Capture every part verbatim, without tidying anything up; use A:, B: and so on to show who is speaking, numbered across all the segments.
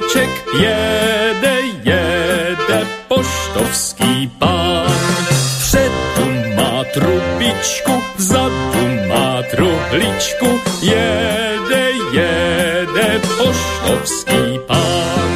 A: balíček, jede, jede poštovský pán. Vpředu má trubičku, vzadu má truhličku, jede, jede poštovský pán.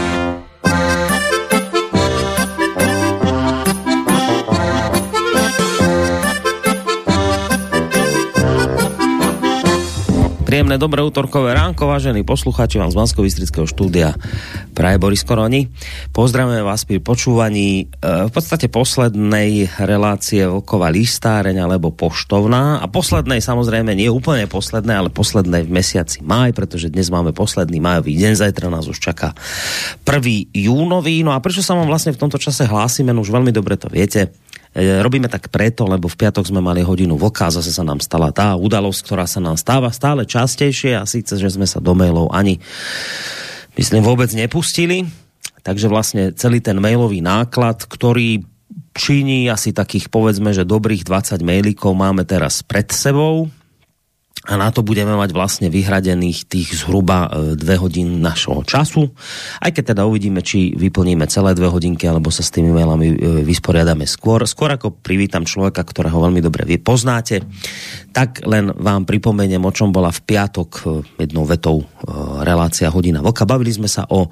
B: Príjemné dobré útorkové ránko, vážení poslucháči, vám z Banskobystrického štúdia praje Boris Koroni. Pozdravujeme vás pri počúvaní v podstate poslednej relácie Vlková listáreň alebo poštovná a poslednej, samozrejme nie úplne poslednej, ale poslednej v mesiaci máj, pretože dnes máme posledný májový deň, zajtra nás už čaká prvý júnový. No a prečo sa vám vlastne v tomto čase hlásime, no už veľmi dobre to viete. Robíme tak preto, lebo v piatok sme mali hodinu vlka a zase sa nám stala tá udalosť, ktorá sa nám stáva stále častejšie, a síce, že sme sa do mailov ani, myslím, vôbec nepustili. Takže vlastne celý ten mailový náklad, ktorý činí asi takých, povedzme, že dobrých dvadsať mailíkov máme teraz pred sebou. A na to budeme mať vlastne vyhradených tých zhruba dve hodín našho času. Aj keď teda uvidíme, či vyplníme celé dve hodinky, alebo sa s tými mailami vysporiadame skôr. Skôr ako privítam človeka, ktorého veľmi dobre vy poznáte, tak len vám pripomeniem, o čom bola v piatok jednou vetou relácia Hodina vlka. Bavili sme sa o e,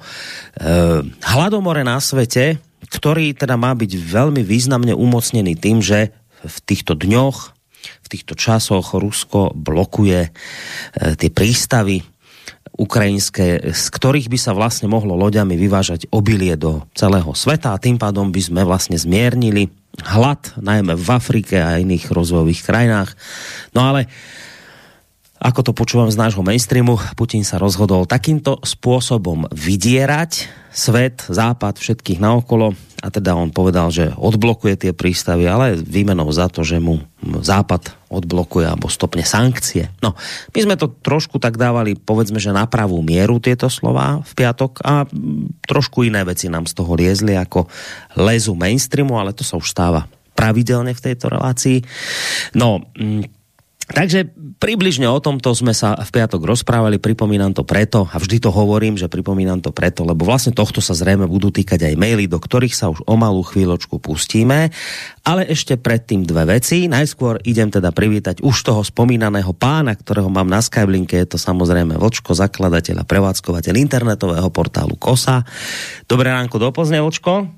B: hladomore na svete, ktorý teda má byť veľmi významne umocnený tým, že v týchto dňoch, v týchto časoch Rusko blokuje e, tie prístavy ukrajinské, z ktorých by sa vlastne mohlo loďami vyvážať obilie do celého sveta, a tým pádom by sme vlastne zmiernili hlad, najmä v Afrike a iných rozvojových krajinách. No ale ako to počúvam z nášho mainstreamu, Putin sa rozhodol takýmto spôsobom vydierať svet, západ, všetkých naokolo, a teda on povedal, že odblokuje tie prístavy, ale výmenou za to, že mu západ odblokuje alebo stopne sankcie. No, my sme to trošku tak dávali, povedzme, že na pravú mieru tieto slová v piatok, a trošku iné veci nám z toho liezli ako lezu mainstreamu, ale to sa už stáva pravidelne v tejto relácii. No, takže približne o tomto sme sa v piatok rozprávali, pripomínam to preto, a vždy to hovorím, že pripomínam to preto, lebo vlastne tohto sa zrejme budú týkať aj maily, do ktorých sa už o malú chvíľočku pustíme, ale ešte predtým dve veci. Najskôr idem teda privítať už toho spomínaného pána, ktorého mám na Skyblinke, je to samozrejme Vlčko, zakladateľ a prevádzkovateľ internetového portálu Kosa. Dobré ránko do Plzně, Vlčko.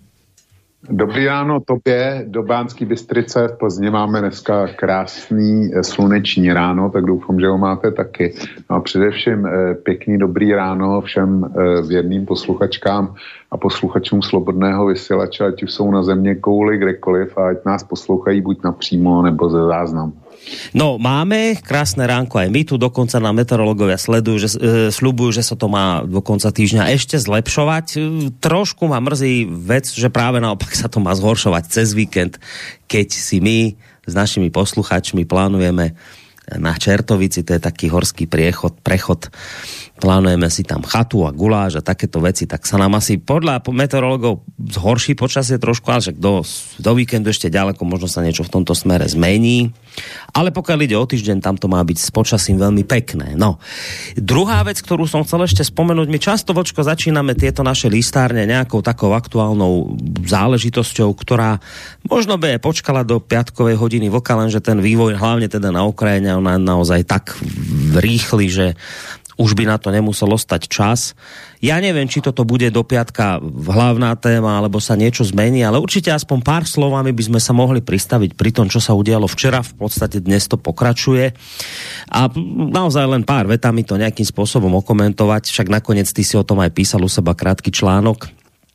C: Dobrý ráno tobě, do Banské Bystrice. V Plzni máme dneska krásný sluneční ráno, tak doufám, že ho máte taky. No a především pěkný dobrý ráno všem věrným posluchačkám a posluchačům Slobodného vysílače, ať už jsou na země kouli kdekoliv, a ať nás poslouchají buď napřímo nebo ze záznamu.
B: No, máme krásne ránko aj my tu, dokonca nám meteorológovia sledujú, že, e, sľubujú, že sa to má do konca týždňa ešte zlepšovať. E, trošku ma mrzí vec, že práve naopak sa to má zhoršovať cez víkend, keď si my s našimi posluchačmi plánujeme na Čertovici, to je taký horský priechod, prechod, plánujeme si tam chatu a guláš a takéto veci, tak sa nám asi podľa meteorológov zhorší počasie trošku, ale však do, do víkendu ešte ďaleko, možno sa niečo v tomto smere zmení. Ale pokiaľ ide o týždeň, tam to má byť s počasím veľmi pekné. No, druhá vec, ktorú som chcel ešte spomenúť, my často, Vočko, začíname tieto naše listárne nejakou takou aktuálnou záležitosťou, ktorá možno by počkala do piatkovej hodiny vlka, lenže ten vývoj, hlavne teda na Ukrajine, ona naozaj tak rýchly, že už by na to nemuselo stať čas. Ja neviem, či toto bude do piatka hlavná téma, alebo sa niečo zmení, ale určite aspoň pár slovami by sme sa mohli pristaviť pri tom, čo sa udialo včera. V podstate dnes to pokračuje. A naozaj len pár vetami to nejakým spôsobom okomentovať. Však nakoniec ty si o tom aj písal u seba krátky článok.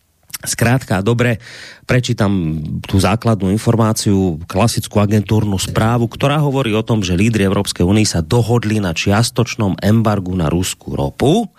B: Skrátka, dobre, prečítam tú základnú informáciu, klasickú agentúrnu správu, ktorá hovorí o tom, že lídri Európskej únie sa dohodli na čiastočnom embargu na ruskú ropu.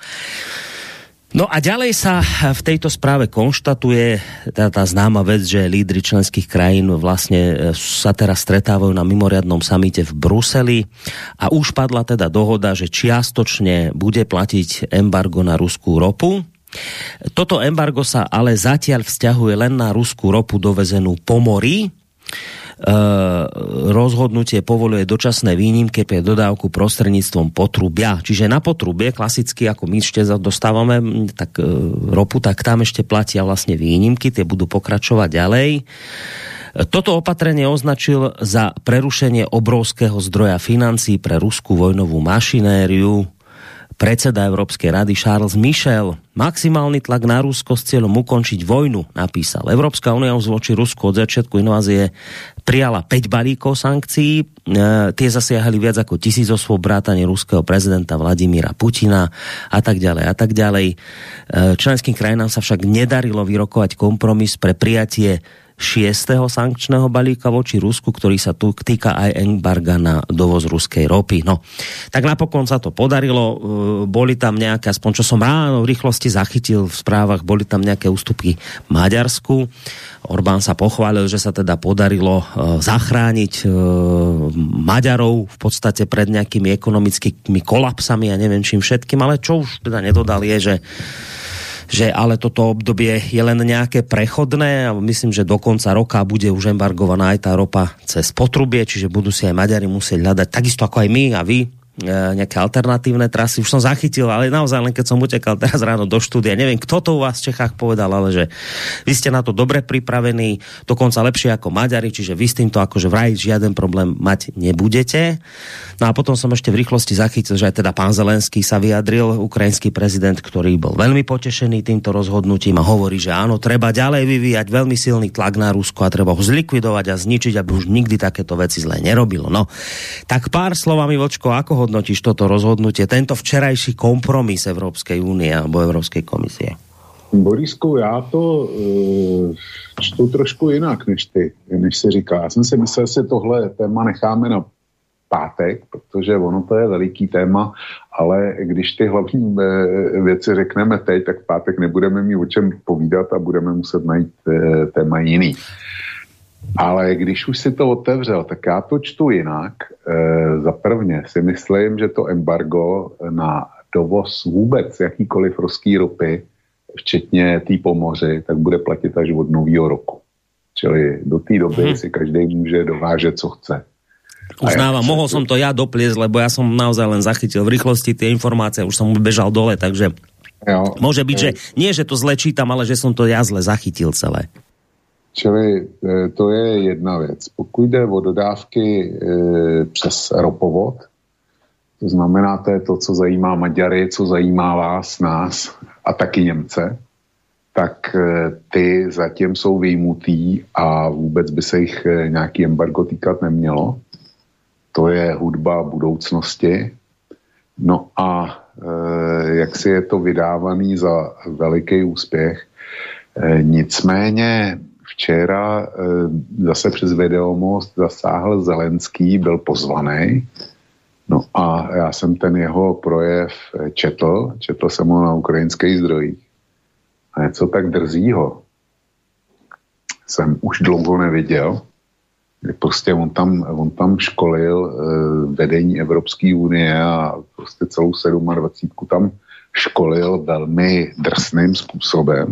B: No a ďalej sa v tejto správe konštatuje tá, tá známa vec, že lídri členských krajín vlastne sa teraz stretávajú na mimoriadnom samite v Bruseli a už padla teda dohoda, že čiastočne bude platiť embargo na ruskú ropu. Toto embargo sa ale zatiaľ vzťahuje len na ruskú ropu dovezenú po mori. rozhodnutie povoľuje dočasné výnimky pre dodávku prostredníctvom potrubia. Čiže na potrubie, klasicky, ako my ešte dostávame tak, ropu, tak tam ešte platia vlastne výnimky, tie budú pokračovať ďalej. Toto opatrenie označil za prerušenie obrovského zdroja financií pre ruskú vojnovú mašinériu predseda Európskej rady Charles Michel. Maximálny tlak na Rusko s cieľom ukončiť vojnu, napísal. Európska únia už voči Rusku od začiatku invázie prijala päť balíkov sankcií. E, tie zasiahali viac ako tisíc osôb, vrátane ruského prezidenta Vladimíra Putina a tak ďalej a tak ďalej. E, členským krajinám sa však nedarilo vyrokovať kompromis pre prijatie šiesteho sankčného balíka voči Rusku, ktorý sa tu týka aj embarga na dovoz ruskej ropy. No, tak napokon sa to podarilo. Boli tam nejaké, aspoň čo som ráno v rýchlosti zachytil v správach, boli tam nejaké ústupky Maďarsku. Orbán sa pochválil, že sa teda podarilo zachrániť Maďarov v podstate pred nejakými ekonomickými kolapsami a neviem čím všetkým, ale čo už teda nedodal je, že že ale toto obdobie je len nejaké prechodné a myslím, že do konca roka bude už embargovaná aj tá ropa cez potrubie, čiže budú si aj Maďari musieť hľadať, takisto ako aj my a vy, nejaké alternatívne trasy. Už som zachytil, ale naozaj len keď som utekal teraz ráno do štúdia, neviem, kto to u vás v Čechách povedal, ale že vy ste na to dobre pripravení, dokonca lepšie ako Maďari, čiže vy s týmto akože vraj žiaden problém mať nebudete. No a potom som ešte v rýchlosti zachytil, že aj teda pán Zelenský sa vyjadril, ukrajinský prezident, ktorý bol veľmi potešený týmto rozhodnutím a hovorí, že áno, treba ďalej vyvíjať veľmi silný tlak na Rusko a treba ho zlikvidovať a zničiť, aby už nikdy takéto veci zle nerobilo. No, tak pár slovami, Vočko, ako hodnotíš toto rozhodnutie, tento včerajší kompromis Európskej únie alebo Európskej komisie?
C: Borisku, já to uh, čtu trošku jinak, než ty, než se říká. Já jsem si myslel, že tohle téma necháme na pátek, protože ono to je veliký téma, ale když ty hlavní věci řekneme teď, tak v pátek nebudeme mít o čem povídat a budeme muset najít uh, téma jiný. Ale když už si to otevřel, tak já to čtu jinak. E, za prvně si myslím, že to embargo na dovoz vůbec jakýkoliv ruský ropy, včetně té pomoři, tak bude platit až od nového roku. Čili do té doby hmm. si každý může dovážet, co chce.
B: Uznávam, ja mohol som to ja dopliesť, lebo ja som naozaj len zachytil v rýchlosti tie informácie, už som bežal dole, takže jo, môže byť, jo. Že nie, že to zle čítam, ale že som to ja zle zachytil celé.
C: Čili to je jedna věc. Pokud jde o dodávky e, přes ropovod, to znamená, to je to, co zajímá Maďary, co zajímá vás, nás a taky Němce, tak e, ty zatím jsou vyjmutý a vůbec by se jich e, nějaký embargo týkat nemělo. To je hudba budoucnosti. No a e, jak si je to vydávaný za veliký úspěch. E, nicméně včera e, zase přes Videomost zasáhl Zelenský, byl pozvaný. No a já jsem ten jeho projev četl, četl jsem ho na ukrajinských zdrojích. A něco tak drzího jsem už dlouho neviděl. Prostě on tam, on tam školil e, vedení Evropské unie a prostě celou sedmadvacítku tam školil velmi drsným způsobem.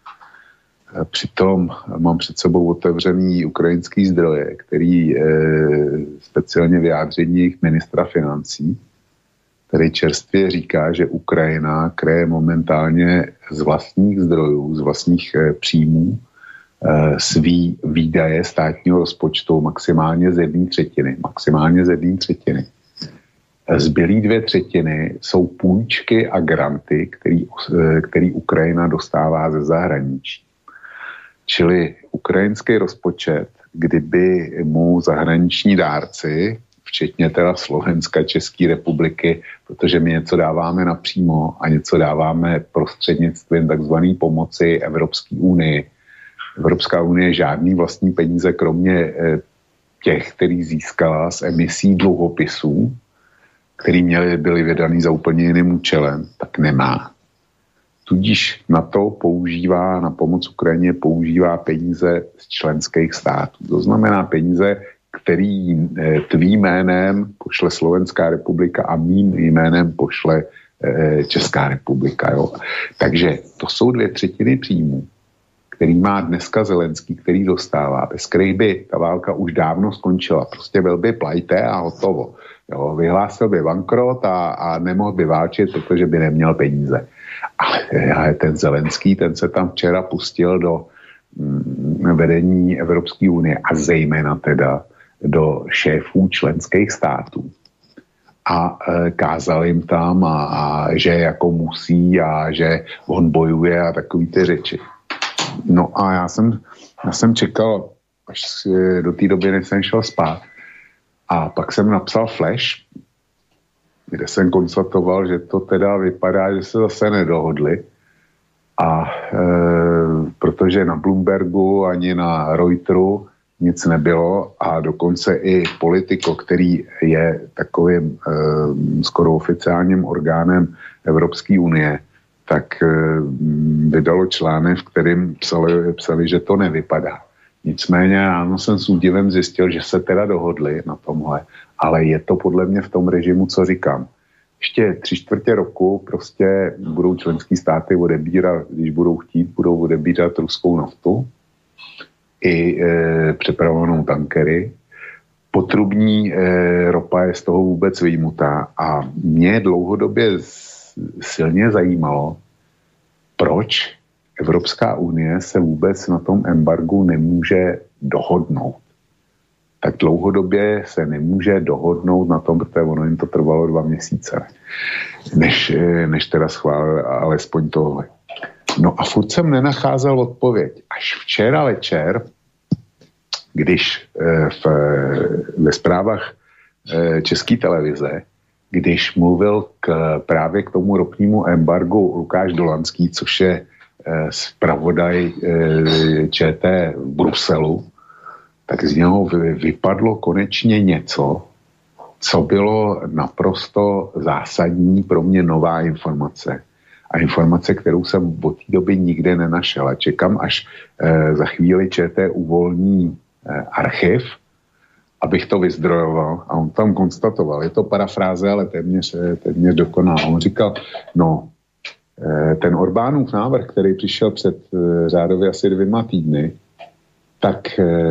C: Přitom mám před sebou otevřený ukrajinský zdroje, který e, speciálně vyjádření jejich ministra financí, který čerstvě říká, že Ukrajina kreje momentálně z vlastních zdrojů, z vlastních e, příjmů e, svý výdaje státního rozpočtu maximálně z jedné třetiny. Maximálně z jedné třetiny. Zbylý dvě třetiny jsou půjčky a granty, který, e, který Ukrajina dostává ze zahraničí. Čili ukrajinský rozpočet, kdyby mu zahraniční dárci, včetně teda Slovenska, České republiky, protože my něco dáváme napřímo a něco dáváme prostřednictvím takzvané pomoci Evropské unii. Evropská unie žádný vlastní peníze, kromě těch, který získala z emisí dluhopisů, který měly, byly vydaný za úplně jiným účelem, tak nemá. Tudíž na to používá, na pomoc Ukrajině používá peníze z členských států. To znamená peníze, který tvým jménem pošle Slovenská republika a mým jménem pošle Česká republika. Jo. Takže to jsou dvě třetiny příjmů, který má dneska Zelenský, který dostává, bez kterých by ta válka už dávno skončila. Prostě byl by plajte a hotovo. Jo, vyhlásil by bankrot a, a nemohl by válčit, protože by neměl peníze. Ale, ale ten Zelenský, ten se tam včera pustil do mm, vedení Evropské unie a zejména teda do šéfů členských států. A e, kázal jim tam, a, a že jako musí a že on bojuje a takový ty řeči. No a já jsem, já jsem čekal, až do té doby, než jsem šel spát. A pak jsem napsal flash, kde jsem konstatoval, že to teda vypadá, že se zase nedohodli. A e, protože na Bloombergu ani na Reuteru nic nebylo a dokonce i Politico, který je takovým e, skoro oficiálním orgánem Evropské unie, tak e, vydalo článek, v kterým psali, psali, že to nevypadá. Nicméně ráno jsem s údivem zjistil, že se teda dohodli na tomhle, ale je to podle mě v tom režimu, co říkám. Ještě tři čtvrtě roku prostě budou členský státy odebírat, když budou chtít, budou odebírat ruskou naftu i e, přepravovanou tankery. Potrubní e, ropa je z toho vůbec vyjmutá a mě dlouhodobě silně zajímalo, proč Evropská unie se vůbec na tom embargu nemůže dohodnout. Tak dlouhodobě se nemůže dohodnout na tom, protože ono jim to trvalo dva měsíce, než, než teda schválil alespoň tohle. No a furt jsem nenacházel odpověď. Až včera večer, když v, ve zprávách České televize, když mluvil k, právě k tomu ropnímu embargu Lukáš Dolanský, což je zpravodaj ČT v Bruselu, tak z něho vypadlo konečně něco, co bylo naprosto zásadní pro mě nová informace. A informace, kterou jsem od té doby nikde nenašel. A čekám, až za chvíli ČT uvolní archiv, abych to vyzdrojoval. A on tam konstatoval, je to parafráze, ale téměř, téměř dokonal. On říkal, no, ten Orbánův návrh, který přišel před řádově asi dvěma týdny, tak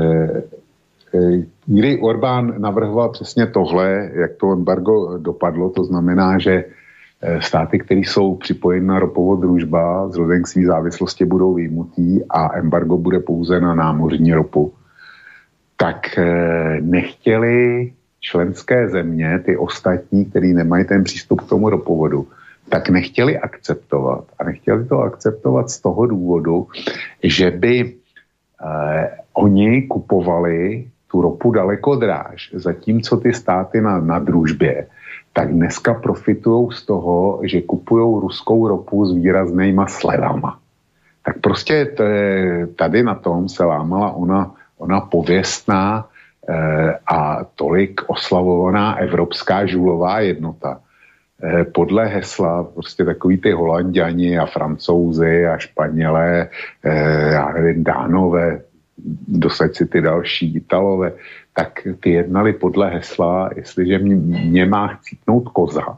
C: kdy Orbán navrhoval přesně tohle, jak to embargo dopadlo, to znamená, že státy, které jsou připojeny na ropovod družba, vzhledem k své závislosti budou vyjmutý a embargo bude pouze na námořní ropu, tak nechtěli členské země, ty ostatní, který nemají ten přístup k tomu ropovodu, tak nechtěli akceptovat. A nechtěli to akceptovat z toho důvodu, že by eh, oni kupovali tu ropu daleko dráž, zatímco ty státy na, na družbě, tak dneska profitují z toho, že kupují ruskou ropu s výraznýma slevama. Tak prostě t- tady na tom se lámala ona, ona pověstná eh, a tolik oslavovaná evropská žulová jednota. Podle hesla prostě takový ty Holanďani a Francouzi a Španělé, já nevím, Dánové, dosaď si ty další Italové, tak ty jednali podle hesla, jestliže mě, mě má chcípnout koza,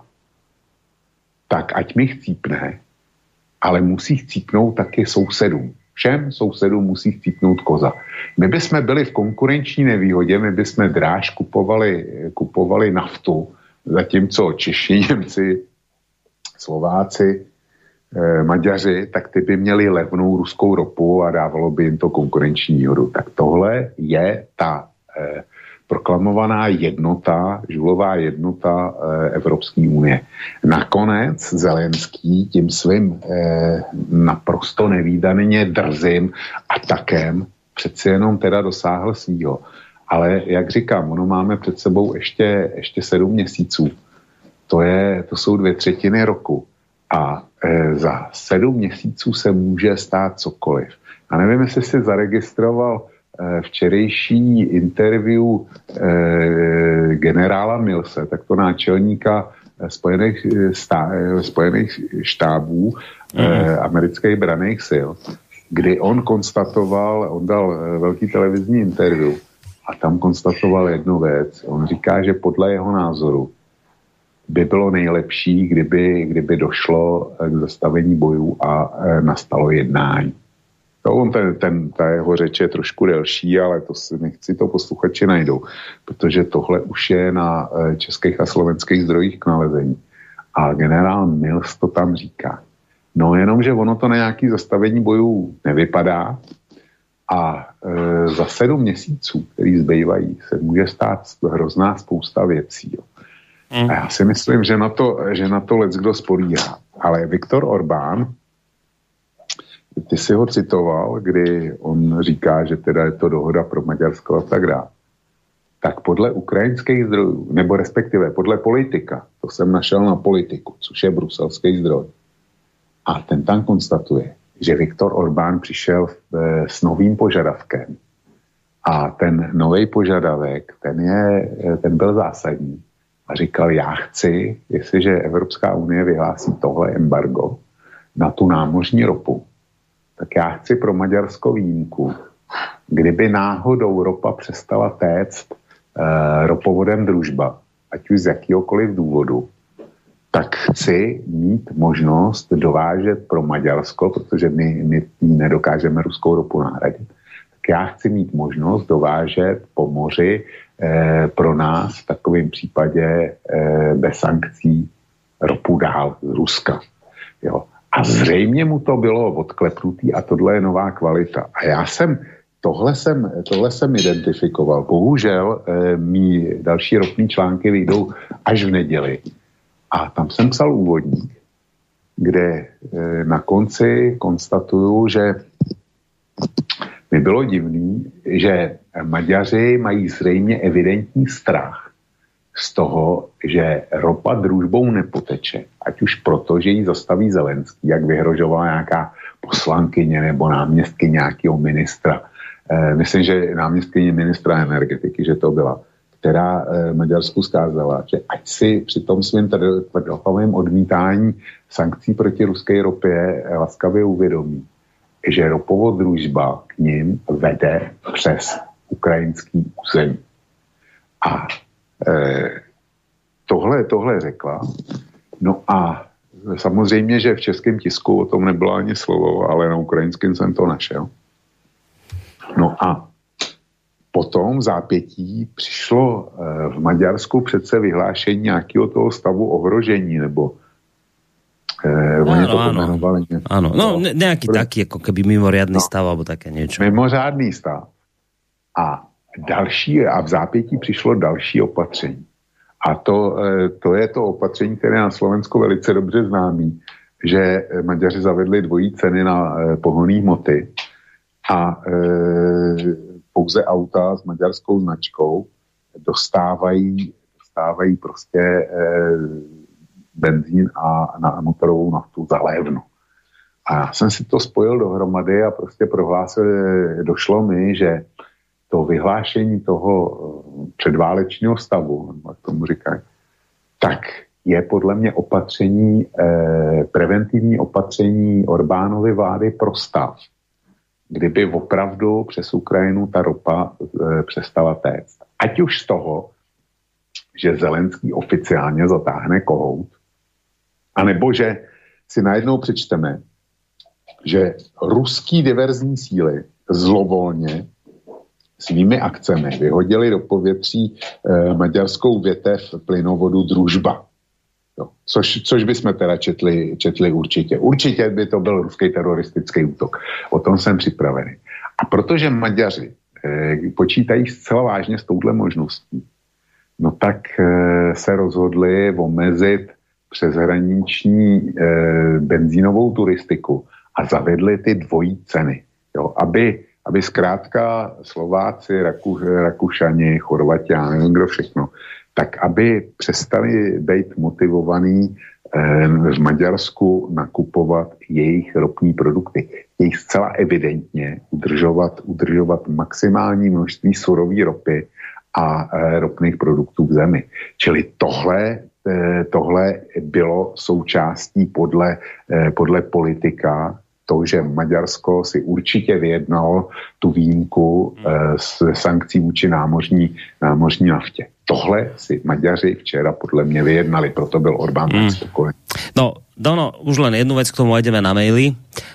C: tak ať mi chcípne, ale musí chcípnout taky sousedům. Všem sousedům musí chcípnout koza. My bychom byli v konkurenční nevýhodě, my bychom dráž kupovali, kupovali naftu, zatímco Češi, Němci, Slováci, eh, Maďaři, tak ty by měli levnou ruskou ropu a dávalo by jim to konkurenční výhodu. Tak tohle je ta eh, proklamovaná jednota, žulová jednota eh, Evropské unie. Nakonec Zelenský tím svým eh, naprosto nevídaně drzým atakem přeci jenom teda dosáhl svýho. Ale jak říkám, ono máme před sebou ještě, ještě sedm měsíců. To, je, to jsou dvě třetiny roku. A e, za sedm měsíců se může stát cokoliv. A nevím, jestli jsi zaregistroval e, včerejší interview e, generála Millse, takto náčelníka Spojených, stá, Spojených štábů mm. e, amerických branných sil, kdy on konstatoval, on dal velký televizní interview, a tam konstatoval jednu věc. On říká, že podle jeho názoru by bylo nejlepší, kdyby, kdyby došlo k zastavení bojů a nastalo jednání. No, on ten, ten, ta jeho řeč je trošku delší, ale to si nechci to posluchači najdou, protože tohle už je na českých a slovenských zdrojích k nalezení. A generál Mills to tam říká. No jenom, že ono to na nějaký zastavení bojů nevypadá a e, za sedm měsíců, který zbývají, se může stát hrozná spousta věcí. Jo. Mm. A já si myslím, že na to, že na to leckdo spolíhá. Ale Viktor Orbán, ty si ho citoval, kdy on říká, že teda je to dohoda pro Maďarsko a tak dále. Tak podle ukrajinských zdrojů, nebo respektive podle politika, to jsem našel na Politiku, což je bruselský zdroj, a ten tam konstatuje, že Viktor Orbán přišel s novým požadavkem. A ten nový požadavek, ten, je, ten byl zásadní. A říkal, já chci, jestliže Evropská unie vyhlásí tohle embargo na tu námořní ropu, tak já chci pro Maďarsko výjimku, kdyby náhodou ropa přestala téct e, ropovodem Družba, ať už z jakýhokoliv důvodu, tak chci mít možnost dovážet pro Maďarsko, protože my, my nedokážeme ruskou ropu nahradit, tak já chci mít možnost dovážet po moři eh, pro nás v takovém případě eh, bez sankcí ropu dál z Ruska. Jo. A zřejmě mu to bylo odklepnutý a tohle je nová kvalita. A já jsem, tohle jsem, tohle jsem identifikoval. Bohužel eh, mý další ropný články vyjdou až v neděli. A tam jsem psal úvodník, kde e, na konci konstatuju, že mi bylo divný, že Maďaři mají zřejmě evidentní strach z toho, že ropa Družbou nepoteče. Ať už proto, že ji zastaví Zelenský, jak vyhrožovala nějaká poslankyně nebo náměstky nějakého ministra. E, myslím, že náměstkyně ministra energetiky, že to byla, která e, Maďarsku skázala, že ať si při tom svým tvrdohlavém odmítání sankcí proti ruské ropě laskavě uvědomí, že ropovod Družba k ním vede přes ukrajinský území. A e, tohle, tohle řekla. No a samozřejmě, že v českém tisku o tom nebylo ani slovo, ale na ukrajinském jsem to našel. No a potom v zápětí přišlo v Maďarsku přece vyhlášení nějakého toho stavu ohrožení, nebo eh, oni to pomenovali.
B: Áno, no ne, nejaký Pro... taký, ako keby mimoriadný no, stav, alebo také niečo.
C: Mimořádný stav. A další, a v zápětí přišlo další opatření. A to, eh, to je to opatření, které na Slovensku velice dobře známý, že Maďaři zavedli dvojí ceny na eh, pohonné hmoty a eh, pouze auta s maďarskou značkou dostávají, dostávají prostě e, benzín a na motorovou naftu za levno. A já jsem si to spojil dohromady a prostě prohlásil, došlo mi, že to vyhlášení toho předválečního stavu, jak tomu říkají, tak je podle mě opatření, e, preventivní opatření Orbánovy vlády pro stav, kdyby opravdu přes Ukrajinu ta ropa e, přestala téct. Ať už z toho, že Zelenský oficiálně zatáhne kohout, anebo že si najednou přečteme, že ruský diverzní síly zlovolně svými akcemi vyhodili do povětří e, maďarskou větev plynovodu Družba. Jo. Což, což bychom teda četli, četli určitě. Určitě by to byl ruský teroristický útok. O tom jsem připravený. A protože Maďaři eh, počítají zcela vážně s touhle možností, no tak eh, se rozhodli omezit přeshraniční eh, benzínovou turistiku a zavedli ty dvojí ceny. Jo, aby, aby zkrátka Slováci, Raku, Rakušani, Chorvatiáni, nevím kdo všechno, tak aby přestali být motivovaní eh, v Maďarsku nakupovat jejich ropní produkty. Jejich zcela evidentně udržovat, udržovat maximální množství surové ropy a eh, ropných produktů v zemi. Čili tohle, eh, tohle bylo součástí podle, eh, podle politika, to, že Maďarsko si určitě vyjednalo tu výjimku eh, s sankcí vůči námořní, námořní naftě. Tohle si Maďaři včera podle mě vyjednali, proto byl Orbán tak spokojený.
B: No, Dono, už len jednu vec k tomu ideme na maily.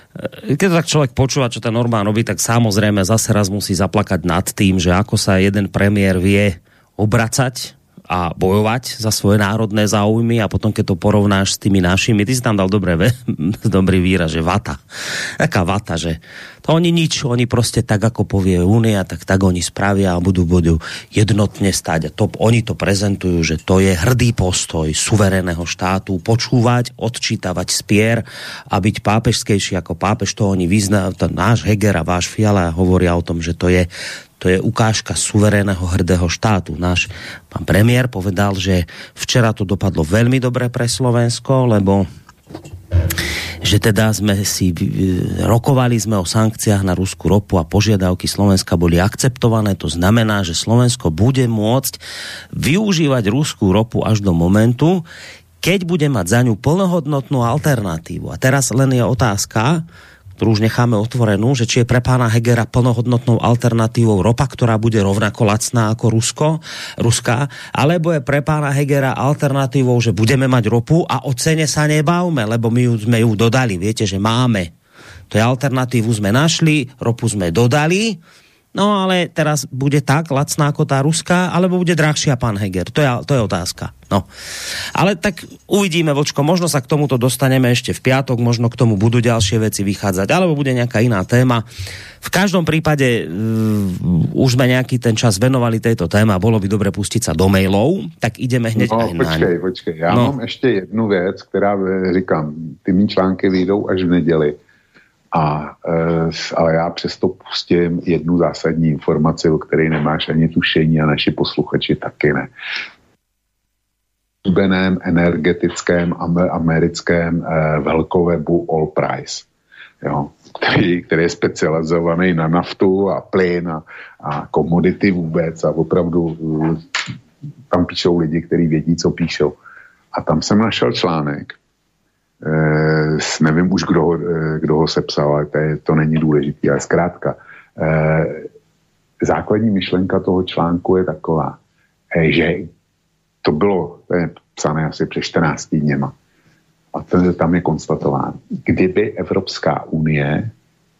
B: keď to tak človek počúva, čo ten Orbán robí, tak samozrejme zase raz musí zaplakať nad tým, že ako sa jeden premiér vie obracať a bojovať za svoje národné záujmy a potom, keď to porovnáš s tými našimi, ty si tam dal dobré, dobrý výraz, že vata. Taká vata, že to oni nič, oni proste tak, ako povie Únia, tak tak oni spravia a budú, budú jednotne stáť. A to, oni to prezentujú, že to je hrdý postoj suverénneho štátu, počúvať, odčítavať spier a byť pápežskejší ako pápež, to oni vyznajú. Náš Heger a váš Fiala hovoria o tom, že to je To je ukážka suverénneho hrdého štátu. Náš pán premiér povedal, že včera to dopadlo veľmi dobre pre Slovensko, lebo že teda sme si rokovali sme o sankciách na ruskú ropu a požiadavky Slovenska boli akceptované. To znamená, že Slovensko bude môcť využívať ruskú ropu až do momentu, keď bude mať za ňu plnohodnotnú alternatívu. A teraz len je otázka, ktorú už necháme otvorenú, že či je pre pána Hegera plnohodnotnou alternatívou ropa, ktorá bude rovnako lacná ako Rusko, ruská, alebo je pre pána Hegera alternatívou, že budeme mať ropu a o cene sa nebavme, lebo my ju, sme ju dodali. Viete, že máme. To je alternatívu sme našli, ropu sme dodali, no ale teraz bude tak lacná ako tá ruská, alebo bude drahšia, pán Heger. To je, to je otázka. No. Ale tak uvidíme, Vočko, možno sa k tomuto dostaneme ešte v piatok, možno k tomu budú ďalšie veci vychádzať, alebo bude nejaká iná téma. V každom prípade uh, už sme nejaký ten čas venovali tejto téme a bolo by dobre pustiť sa do mailov, tak ideme hneď
C: no,
B: aj na
C: počkej, počkej, já
B: no.
C: mám ještě jednu věc, která, říkám, ty mý články vyjdou až v neděli. A, e, ale já přesto pustím jednu zásadní informaci, o které nemáš ani tušení a naši posluchači taky ne. V slíbeném energetickém americkém e, velkowebu All Price, jo, který, který je specializovaný na naftu a plyn a, a komodity vůbec a opravdu tam píšou lidi, kteří vědí, co píšou. A tam jsem našel článek, Eh, nevím už, kdo ho, kdo ho sepsal, ale to, je, to není důležité, ale zkrátka. Eh, základní myšlenka toho článku je taková, eh, že to bylo to je psané asi před čtrnácti dněma. A to, tam je konstatováno. Kdyby Evropská unie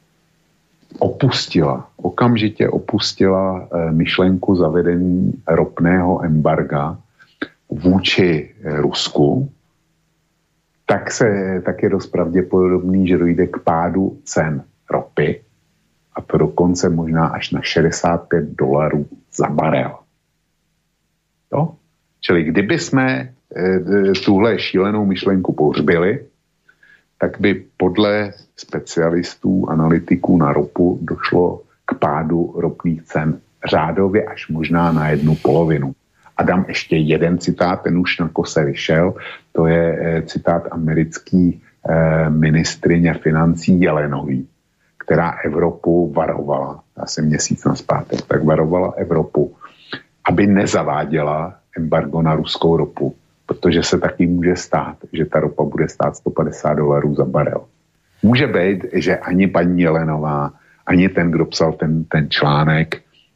C: opustila, okamžitě opustila eh, myšlenku zavedení ropného embarga vůči eh, Rusku, tak, se, tak je dost pravděpodobný, že dojde k pádu cen ropy a to dokonce možná až na šedesát pět dolarů za barel. Jo? Čili kdyby jsme e, tuhle šílenou myšlenku pohřbili, tak by podle specialistů, analytiků na ropu došlo k pádu ropných cen řádově až možná na jednu polovinu. A dám ještě jeden citát, ten už na kose vyšel, to je e, citát americký e, ministryně financí Jelenový, která Evropu varovala, asi měsíc nazpátek, tak varovala Evropu, aby nezaváděla embargo na ruskou ropu, protože se taky může stát, že ta ropa bude stát sto padesát dolarů za barel. Může být, že ani paní Jelenová, ani ten, kdo psal ten, ten článek,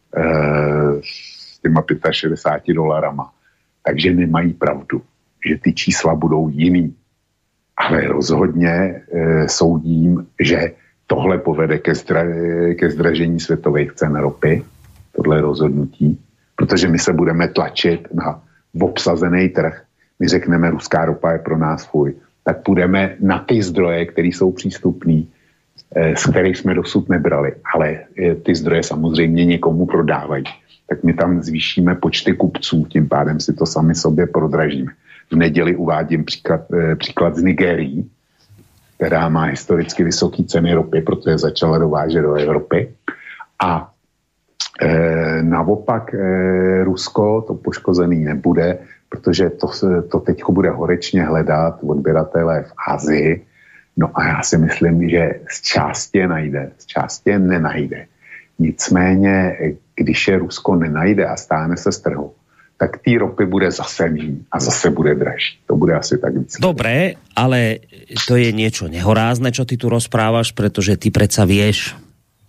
C: e, těma šedesát pěti dolarama. Takže nemají pravdu, že ty čísla budou jiný. Ale rozhodně e, soudím, že tohle povede ke, zdra, ke zdražení světových cen ropy, tohle rozhodnutí, protože my se budeme tlačit na obsazený trh. My řekneme, ruská ropa je pro nás fuj. Tak půjdeme na ty zdroje, které jsou přístupný, e, z kterých jsme dosud nebrali. Ale e, ty zdroje samozřejmě někomu prodávají. Tak my tam zvýšíme počty kupců, tím pádem si to sami sobě prodražíme. V neděli uvádím příklad, eh, příklad z Nigérii, která má historicky vysoké ceny ropy, protože začala dovážet do Evropy. A eh, naopak eh, Rusko to poškozený nebude, protože to, to teď bude horečně hledat odběratele v Asii. No a já si myslím, že z části je najde, z části je nenajde. Nicméně, když je Rusko nenajde a stáhne se z trhu, tak tý ropy bude zase míň a zase bude dražší. To bude asi tak víc.
B: Dobre, ale to je niečo nehorázne, čo ty tu rozprávaš, pretože ty predsa vieš,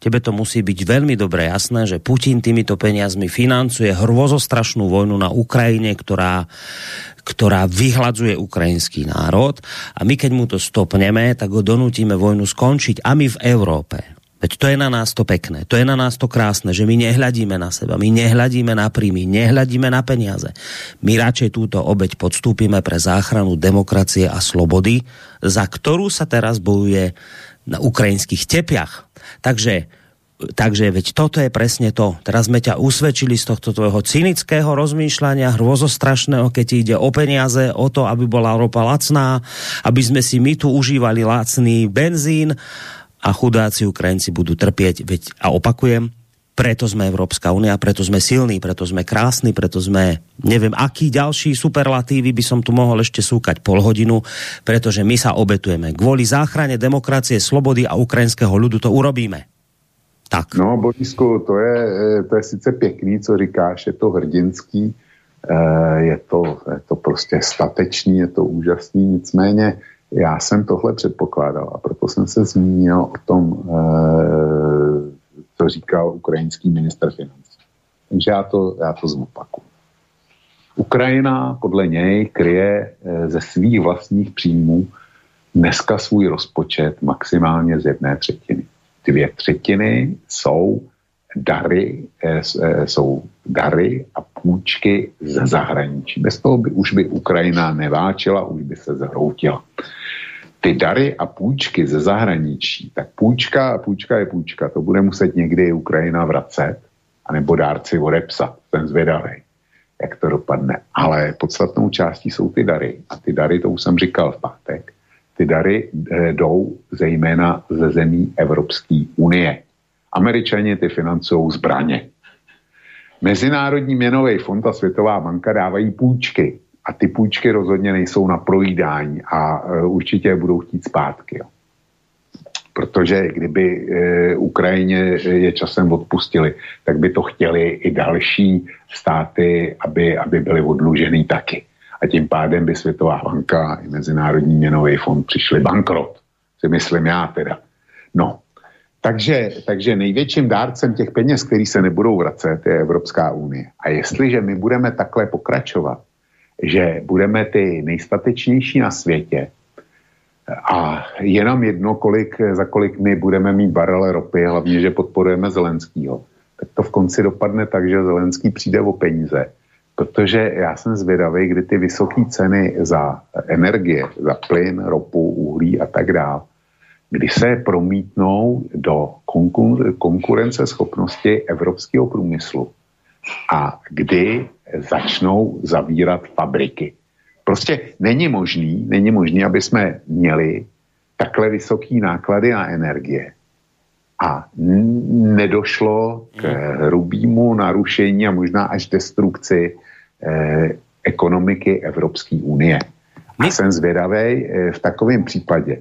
B: tebe to musí byť veľmi dobre jasné, že Putin týmito peniazmi financuje hrôzostrašnú vojnu na Ukrajine, ktorá, ktorá vyhladzuje ukrajinský národ a my keď mu to stopneme, tak ho donútime vojnu skončiť a my v Európe. Veď to je na nás to pekné, to je na nás to krásne, že my nehľadíme na seba, my nehľadíme na príjmy, nehľadíme na peniaze. My radšej túto obeť podstúpime pre záchranu demokracie a slobody, za ktorú sa teraz bojuje na ukrajinských tepiach. Takže, takže veď toto je presne to. Teraz sme ťa usvedčili z tohto tvojho cynického rozmýšľania, hrôzostrašného, keď ti ide o peniaze, o to, aby bola ropa lacná, aby sme si my tu užívali lacný benzín, a chudáci Ukrajinci budú trpieť, veď a opakujem, preto sme Európska únia, preto sme silní, preto sme krásni, preto sme, neviem, aký ďalší superlatívy by som tu mohol ešte súkať pol hodinu, pretože my sa obetujeme. Kvôli záchrane demokracie, slobody a ukrajinského ľudu to urobíme. Tak.
C: No, Borisku, to je, to je sice pěkný, co říkáš, je to hrdinský, je to, je to prostě statečný, je to úžasný, nicméně já jsem tohle předpokládal a proto jsem se zmínil o tom, co říkal ukrajinský ministr financí. Takže já to, já to zopakuju. Ukrajina podle něj kryje ze svých vlastních příjmů dneska svůj rozpočet maximálně z jedné třetiny. Dvě třetiny jsou dary, jsou dary a půjčky ze zahraničí. Bez toho by už by Ukrajina neváčila, už by se zhroutila. Ty dary a půjčky ze zahraničí, tak půjčka a půjčka je půjčka, to bude muset někdy Ukrajina vracet, anebo dárci odepsat, jsem zvědavej, jak to dopadne. Ale podstatnou částí jsou ty dary. A ty dary, to už jsem říkal v pátek, ty dary jdou zejména ze zemí Evropské unie. Američani ty financují zbraně. Mezinárodní měnový fond a Světová banka dávají půjčky. A ty půjčky rozhodně nejsou na projídání a určitě budou chtít zpátky. Jo. Protože kdyby e, Ukrajině je časem odpustili, tak by to chtěli i další státy, aby, aby byly odlužený taky. A tím pádem by Světová banka i Mezinárodní měnový fond přišli bankrot. Si myslím já teda. No, takže, takže největším dárcem těch peněz, který se nebudou vracet, je Evropská unie. A jestliže my budeme takhle pokračovat, že budeme ty nejstatečnější na světě a jenom jedno, kolik, za kolik my budeme mít barele ropy, hlavně, že podporujeme Zelenskýho, tak to v konci dopadne tak, že Zelenský přijde o peníze. Protože já jsem zvědavý, kdy ty vysoké ceny za energie, za plyn, ropu, uhlí a tak dále, kdy se promítnou do konkur- konkurenceschopnosti evropského průmyslu a kdy začnou zavírat fabriky. Prostě není možný, není možný, aby jsme měli takhle vysoký náklady na energie a nedošlo k hrubému narušení a možná až destrukci eh, ekonomiky Evropské unie. A jsem zvědavej, eh, v takovém případě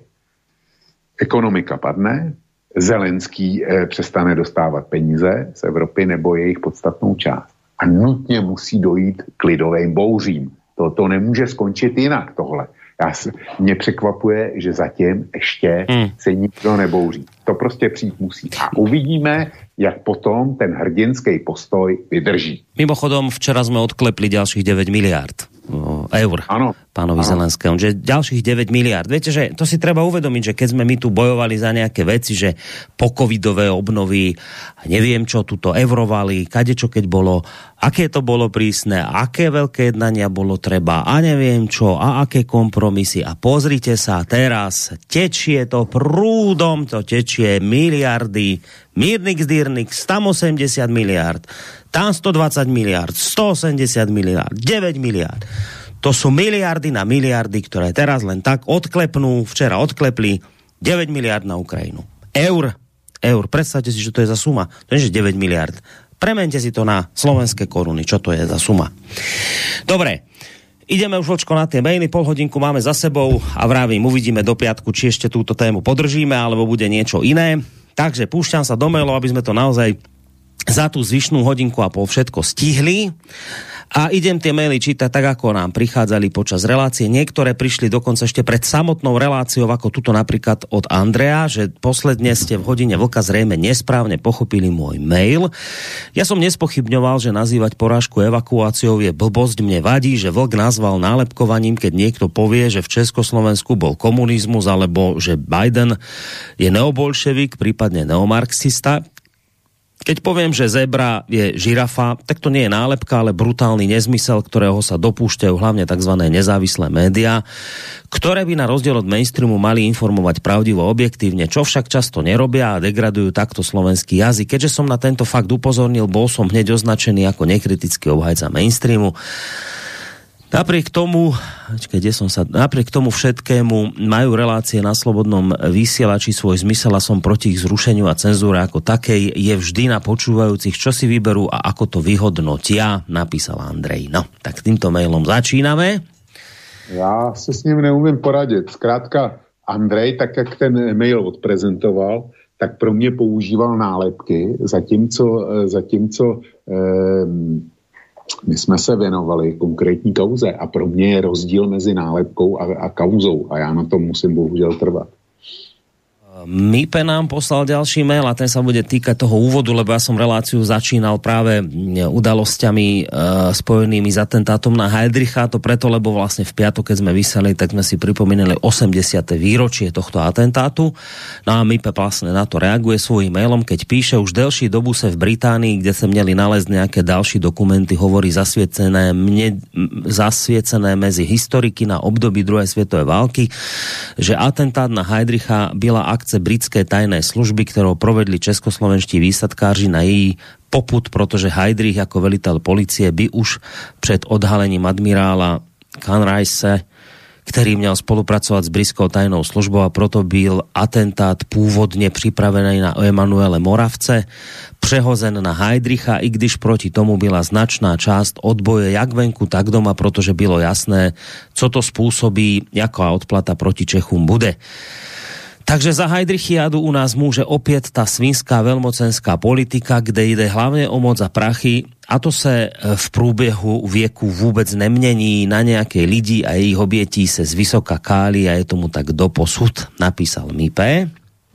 C: ekonomika padne, Zelenský eh, přestane dostávat peníze z Evropy nebo jejich podstatnou část. A nutně musí dojít k lidovým bouřím. To, to nemůže skončit jinak tohle. Já, mě překvapuje, že zatím ještě hmm. se nikdo nebouří. To prostě přijít musí. A uvidíme, jak potom ten hrdinský postoj vydrží.
B: Mimochodom, včera sme odklepli ďalších deväť miliárd eur
C: ano,
B: pánovi Zelenskému. Že ďalších deväť miliárd. Viete, že to si treba uvedomiť, že keď sme my tu bojovali za nejaké veci, že po covidové obnovy, neviem čo, tuto eurovali, kadečo keď bolo, aké to bolo prísne, aké veľké jednania bolo treba a neviem čo, a aké kompromisy. A pozrite sa, teraz tečie to prúdom, to tečie miliardy, mírnik zdírnik, stoosemdesiat miliárd, tam stodvadsať miliárd, stoosemdesiat miliárd, deväť miliárd. To sú miliardy na miliardy, ktoré teraz len tak odklepnú, včera odklepli deväť miliárd na Ukrajinu. Eur, eur, predstavte si, že to je za suma. To je, že deväť miliárd. Premente si to na slovenské koruny, čo to je za suma. Dobre, ideme už vočko na tie maily, pol hodinku máme za sebou a vravím, uvidíme do piatku, či ešte túto tému podržíme, alebo bude niečo iné. Takže púšťam sa do mailov, aby sme to naozaj za tú zvyšnú hodinku a pol všetko stihli. A idem tie maily čítať tak, ako nám prichádzali počas relácie. Niektoré prišli dokonca ešte pred samotnou reláciou, ako tuto napríklad od Andreja, že posledne ste v hodine vlka zrejme nesprávne pochopili môj mail. Ja som nespochybňoval, že nazývať porážku evakuáciou je blbosť. Mne vadí, že vlk nazval nálepkovaním, keď niekto povie, že v Československu bol komunizmus, alebo že Biden je neobolševik, prípadne neomarxista. Keď poviem, že zebra je žirafa, tak to nie je nálepka, ale brutálny nezmysel, ktorého sa dopúšťajú hlavne tzv. Nezávislé médiá, ktoré by na rozdiel od mainstreamu mali informovať pravdivo, objektívne, čo však často nerobia a degradujú takto slovenský jazyk. Keďže som na tento fakt upozornil, bol som hneď označený ako nekritický obhajca mainstreamu. Napriek tomu, kde som sa, napriek tomu všetkému majú relácie na slobodnom vysielači svoj zmysel a som proti ich zrušeniu a cenzúre ako takej. Je vždy na počúvajúcich, čo si vyberú a ako to vyhodnotia, napísal Andrej. No, tak týmto mailom začíname.
C: Já se s ním neumím poradit. Zkrátka Andrej, tak jak ten mail odprezentoval, tak pro mě používal nálepky, zatímco, zatímco eh, my jsme se věnovali konkrétní kauze a pro mě je rozdíl mezi nálepkou a, a kauzou a já na tom musím bohužel trvat.
B: Mipe nám poslal ďalší mail a ten sa bude týkať toho úvodu, lebo ja som reláciu začínal práve udalosťami e, spojenými s atentátom na Heydricha, to preto, lebo vlastne v piatok, keď sme vysielali, tak sme si pripomínali osemdesiate výročie tohto atentátu. No a Mipe vlastne na to reaguje svojím mailom, keď píše: už delší dobu sa v Británii, kde sa měli nalezť nejaké další dokumenty, hovorí zasvietené, mne, zasvietené medzi historiky na období druhej svetovej války, že atentát na Heydricha byla akce britské tajné služby, ktorou provedli českoslovenští výsadkáři na její popud, protože Heydrich ako veliteľ policie by už před odhalením admirála Conrayse, ktorý měl spolupracovať s britskou tajnou službou, a proto byl atentát původně připravený na Emanuele Moravce, přehozen na Heydricha, i když proti tomu byla značná část odboje jak venku, tak doma, protože bylo jasné, co to spôsobí, jaká odplata proti Čechům bude. Takže za Heydrichiádu u nás môže opäť tá svinská veľmocenská politika, kde ide hlavne o moc a prachy, a to sa v průběhu vieku vôbec nemení na nejaké lidi a ich obětí se z vysoka káli a je tomu tak doposud, napísal Mipe.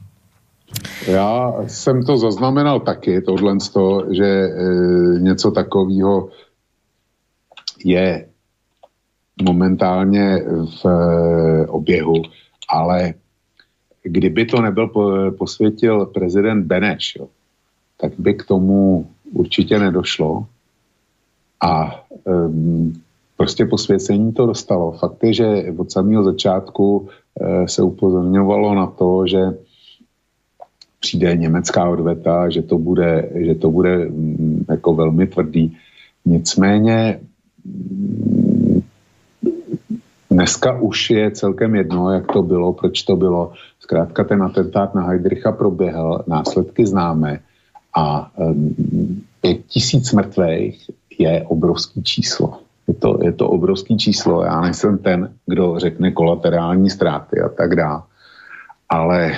C: Já jsem to zaznamenal taky, tohle z toho, že e, něco takového je momentálně v e, oběhu, ale kdyby to nebyl po, posvětil prezident Beneš, jo, tak by k tomu určitě nedošlo a um, prostě posvěcení to dostalo. Fakt je, že od samého začátku uh, se upozorňovalo na to, že přijde německá odveta, že to bude, že to bude um, jako velmi tvrdý. Nicméně um, dneska už je celkem jedno, jak to bylo, proč to bylo. Zkrátka ten atentát na Heydricha proběhl, následky známe a um, pět tisíc mrtvých je obrovský číslo. Je to, je to obrovský číslo. Já nejsem ten, kdo řekne kolaterální ztráty a tak dále. Ale e,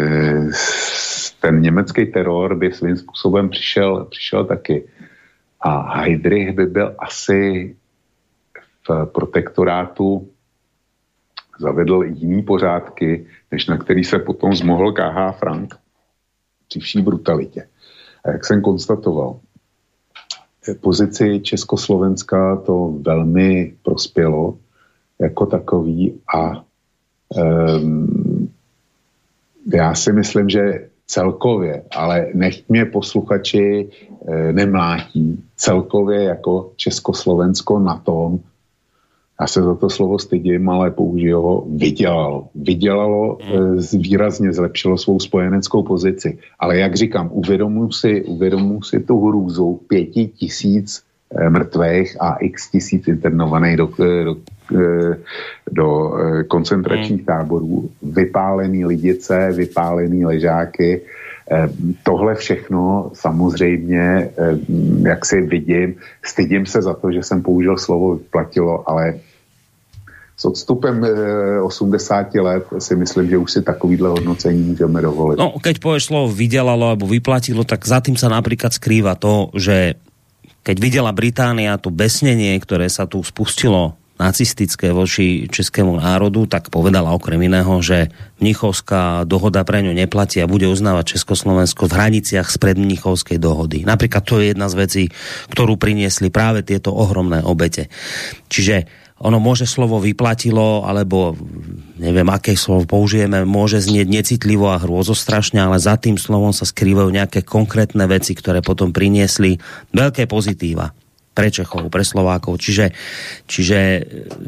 C: ten německý teror by svým způsobem přišel, přišel taky. A Heydrich by byl asi v protektorátu zavedl jiný pořádky, než na který se potom zmohl K H Frank při vší brutalitě. A jak jsem konstatoval, pozici Československa to velmi prospělo jako takový a um, já si myslím, že celkově, ale nechť mě posluchači e, nemlátí, celkově jako Československo na tom, já se za to slovo stydím, ale použiju ho, vydělalo. Vydělalo, e, výrazně zlepšilo svou spojeneckou pozici. Ale jak říkám, uvědomuji si, uvědomuji si tu hrůzu pěti tisíc e, mrtvých a x tisíc internovaných do, do, do e, koncentračních táborů, vypálený lidice, vypálený ležáky. E, tohle všechno samozřejmě, e, jak si vidím, stydím se za to, že jsem použil slovo vyplatilo, ale s odstupem osemdesiat let si myslím, že už si takovýhle hodnocení můžeme dovolit.
B: No, keď povieš slovo vydelalo alebo vyplatilo, tak za tým sa napríklad skrýva to, že keď videla Británia to besnenie, ktoré sa tu spustilo nacistické voči českému národu, tak povedala okrem iného, že Mnichovská dohoda pre ňu neplatí a bude uznávať Československo v hraniciach spred Mnichovskej dohody. Napríklad to je jedna z vecí, ktorú priniesli práve tieto ohromné obete. Čiže ono môže slovo vyplatilo, alebo neviem, aké slovo použijeme, môže znieť necitlivo a hrôzostrašne, ale za tým slovom sa skrývajú nejaké konkrétne veci, ktoré potom priniesli veľké pozitíva pre Čechov, pre Slovákov. Čiže, čiže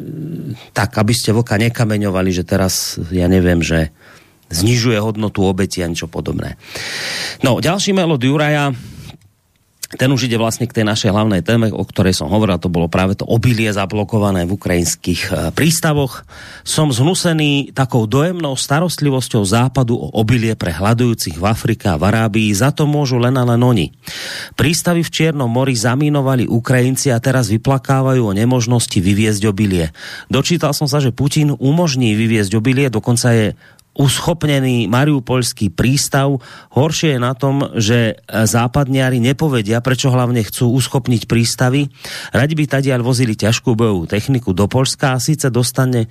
B: tak, aby ste vlka nekameňovali, že teraz, ja neviem, že znižuje hodnotu obeti a niečo podobné. No, ďalší mail od Juraja, ten už ide vlastne k tej našej hlavnej téme, o ktorej som hovoril, to bolo práve to obilie zablokované v ukrajinských prístavoch. Som zhnusený takou dojemnou starostlivosťou západu o obilie pre hľadujúcich v Afrike a v Arábii, za to môžu len a len oni. Prístavy v Čiernom mori zamínovali Ukrajinci a teraz vyplakávajú o nemožnosti vyviezť obilie. Dočítal som sa, že Putin umožní vyviezť obilie, dokonca je uschopnený mariupolský prístav. Horšie je na tom, že západniari nepovedia, prečo hlavne chcú uschopniť prístavy. Radi by tadiaľ vozili ťažkú bojovú techniku do Poľska a síce dostane e,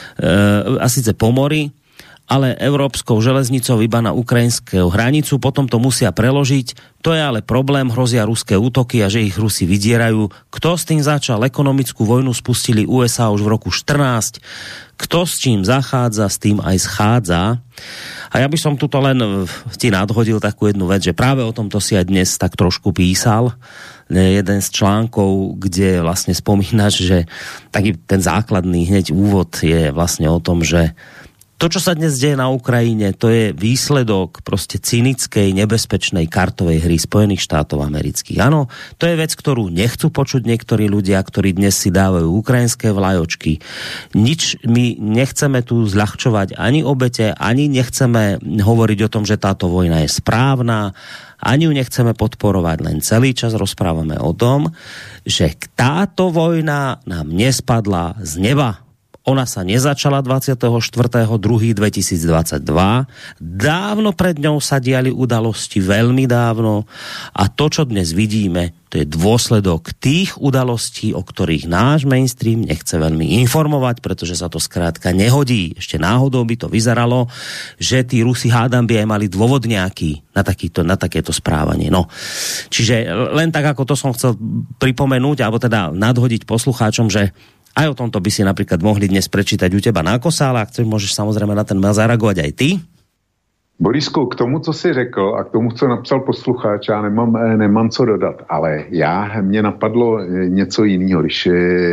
B: a síce po mori, ale európskou železnicou iba na ukrajinskú hranicu, potom to musia preložiť. To je ale problém, hrozia ruské útoky a že ich Rusi vydierajú. Kto s tým začal? Ekonomickú vojnu spustili ú es á už v roku štrnásť. Kto s čím zachádza, s tým aj schádza. A ja by som tuto len ti nadhodil takú jednu vec, že práve o tomto si aj dnes tak trošku písal. Jeden z článkov, kde vlastne spomínaš, že taký ten základný hneď úvod je vlastne o tom, že to, čo sa dnes deje na Ukrajine, to je výsledok proste cynickej, nebezpečnej kartovej hry Spojených štátov amerických. Áno, to je vec, ktorú nechcú počuť niektorí ľudia, ktorí dnes si dávajú ukrajinské vlajočky. Nič, my nechceme tu zľahčovať ani obete, ani nechceme hovoriť o tom, že táto vojna je správna, ani ju nechceme podporovať, len celý čas rozprávame o tom, že táto vojna nám nespadla z neba. Ona sa nezačala dvadsiateho štvrtého druhého dvetisícdvadsaťdva. Dávno pred ňou sa diali udalosti, veľmi dávno. A to, čo dnes vidíme, to je dôsledok tých udalostí, o ktorých náš mainstream nechce veľmi informovať, pretože sa to skrátka nehodí. Ešte náhodou by to vyzeralo, že tí Rusi, hádam, by aj mali dôvod nejaký na, takýto, na takéto správanie. No. Čiže len tak, ako to som chcel pripomenúť, alebo teda nadhodiť poslucháčom, že aj o tomto by si napríklad mohli dnes prečítať u teba na Kosále, a chceš, môžeš samozrejme na ten mail zareagovať aj ty.
C: Borisku, k tomu, co jsi řekl a k tomu, co napsal posluchač, já nemám, nemám co dodat, ale já, mě napadlo něco jiného, když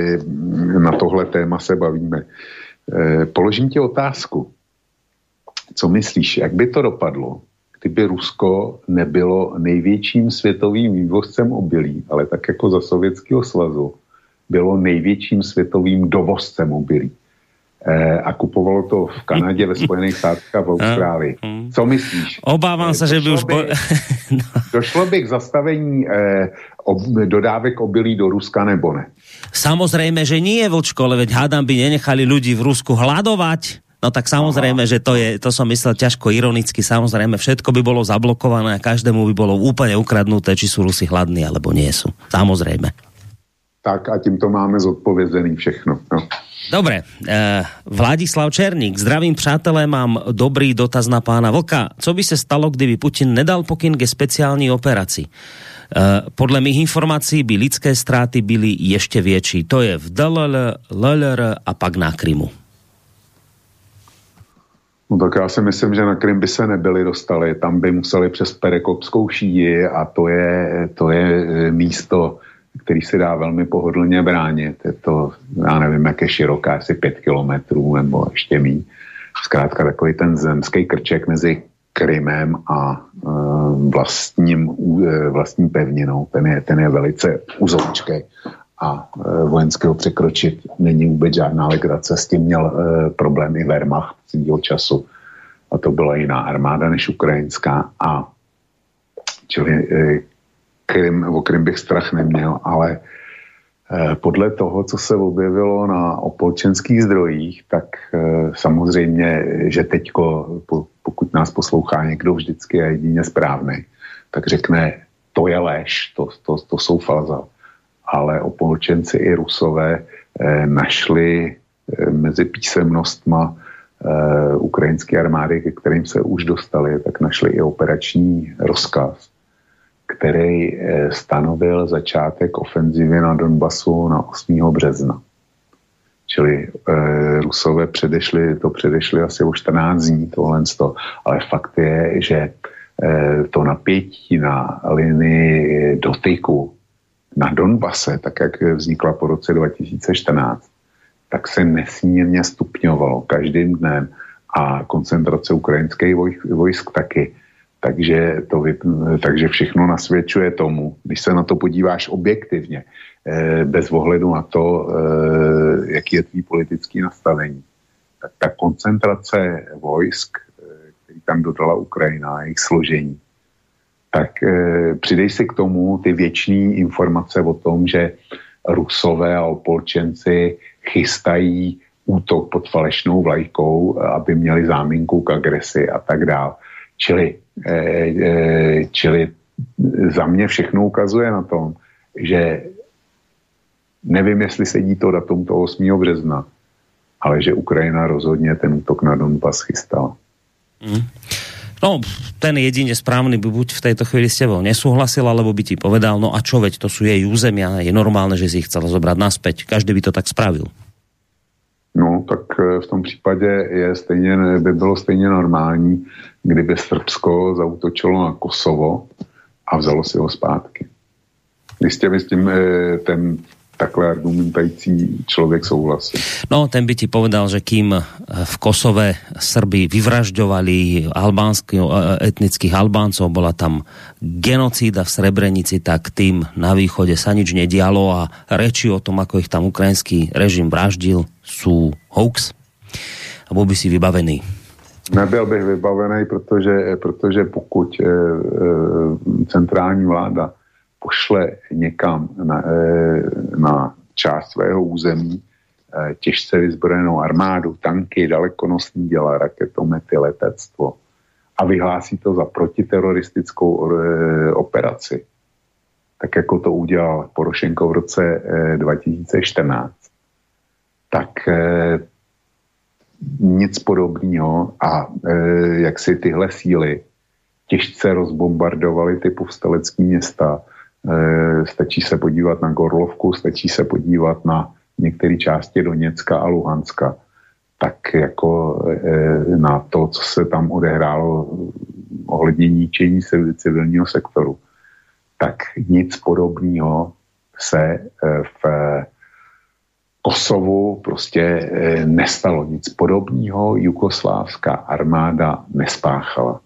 C: na tohle téma se bavíme. Položím ti otázku. Co myslíš, jak by to dopadlo, kdyby Rusko nebylo největším světovým vývozcem obilí, ale tak jako za Sovětského svazu bylo největším světovým dovozcem obilí. E, a kupovalo to v Kanadě, ve Spojených státech a v Austrálii. Co myslíš?
B: Obávám se, že by už... Bo...
C: no. Došlo by k zastavení e, ob, dodávek obilí do Ruska, nebo ne?
B: Samozrejme, že nie, Vlčko, ale veď hádam by nenechali ľudí v Rusku hľadovať. No tak samozrejme, Aha. že to je, to som myslel ťažko ironicky, samozrejme všetko by bolo zablokované a každému by bolo úplne ukradnuté, či sú Rusi hladní, alebo nie sú. Samozrejme.
C: Tak a tímto máme zodpovězený všechno. No.
B: Dobre, e, Vladislav Černík, zdravím přátelé, mám dobrý dotaz na pána Vlka. Co by se stalo, kdyby Putin nedal pokyn ke speciální operaci? E, podle mých informácií by lidské ztráty byly ještě větší. To je v dé el el, el el er a pak na Krymu.
C: No tak já si myslím, že na Krym by se nebyli dostali. Tam by museli přes Perekopskou šíji a to je, to je místo, který se dá velmi pohodlně bránit. Je to, já nevím, jak je široká, asi pět kilometrů nebo ještě míň. Zkrátka takový ten zemský krček mezi Krymem a e, vlastním, e, vlastní pevninou. Ten je, ten je velice uzoučký a e, vojenský ho překročit není vůbec žádná legrace. S tím měl e, problém i Wehrmacht svýho času. A to byla jiná armáda než ukrajinská. A čili e, Krym, o Krym bych strach neměl, ale eh, podle toho, co se objevilo na opolčenských zdrojích, tak eh, samozřejmě, že teďko, po, pokud nás poslouchá někdo vždycky a jedině správný, tak řekne, to je lež, to, to, to jsou falza. ale opolčenci i Rusové eh, našli eh, mezi písemnostma eh, ukrajinské armády, ke kterým se už dostali, tak našli i operační rozkaz, který eh, stanovil začátek ofenzivy na Donbasu na osmého března. Čili eh, Rusové předešli, to předešli asi o čtrnáct dní, tohle sto, ale fakt je, že to napětí na linii dotyku na Donbase, tak jak vznikla po roce dva tisíce čtrnáct, tak se nesmírně stupňovalo každým dnem a koncentrace ukrajinských vojsk, vojsk taky. Takže, to, takže všechno nasvědčuje tomu, když se na to podíváš objektivně, bez ohledu na to, jaký je tvý politický nastavení, tak ta koncentrace vojsk, který tam dodala Ukrajina, jejich složení, tak e, přidej si k tomu ty věčné informace o tom, že Rusové a opolčenci chystají útok pod falešnou vlajkou, aby měli záminku k agresi a tak dále. Čili, e, e, čili za mě všechno ukazuje na tom, že nevím, jestli sedí to datum toho osmého března, ale že Ukrajina rozhodně ten útok na Donbas chystala.
B: Mm. No, ten jedine správny by buď v tejto chvíli s tebou nesúhlasil, alebo by ti povedal, no a čo, veď to sú jej územia, je normálne, že si ich chcela zobrať naspäť. Každý by to tak spravil.
C: No, tak v tom případě je stejně, by bylo stejně normální, kdyby Srbsko zaútočilo na Kosovo a vzalo si ho zpátky. Jistě by s tím ten takhle argumentající človek souhlasí. No,
B: ten by ti povedal, že kým v Kosove Srbi vyvražďovali albánskych, etnických Albáncov, bola tam genocída v Srebrenici, tak tým na východe sa nič nedialo a reči o tom, ako ich tam ukrajinský režim vraždil, sú hoax. A bol by si vybavený.
C: Nebyl bych vybavený, protože, protože pokud e, e, centrální vláda pošle někam na, na část svého území těžce vyzbrojenou armádu, tanky, dalekonosní děla, raketomety, letectvo a vyhlásí to za protiteroristickou operaci, tak jako to udělal Porošenko v roce dva tisíce čtrnáct, tak nic podobného a jak si tyhle síly těžce rozbombardovaly ty povstalecké města. Stačí se podívat na Gorlovku, stačí se podívat na některé části Doněcka a Luhanska, tak jako na to, co se tam odehrálo ohledně ničení civilního sektoru, tak nic podobného se v Kosovu prostě nestalo. Nic podobného jugoslávská armáda nespáchala.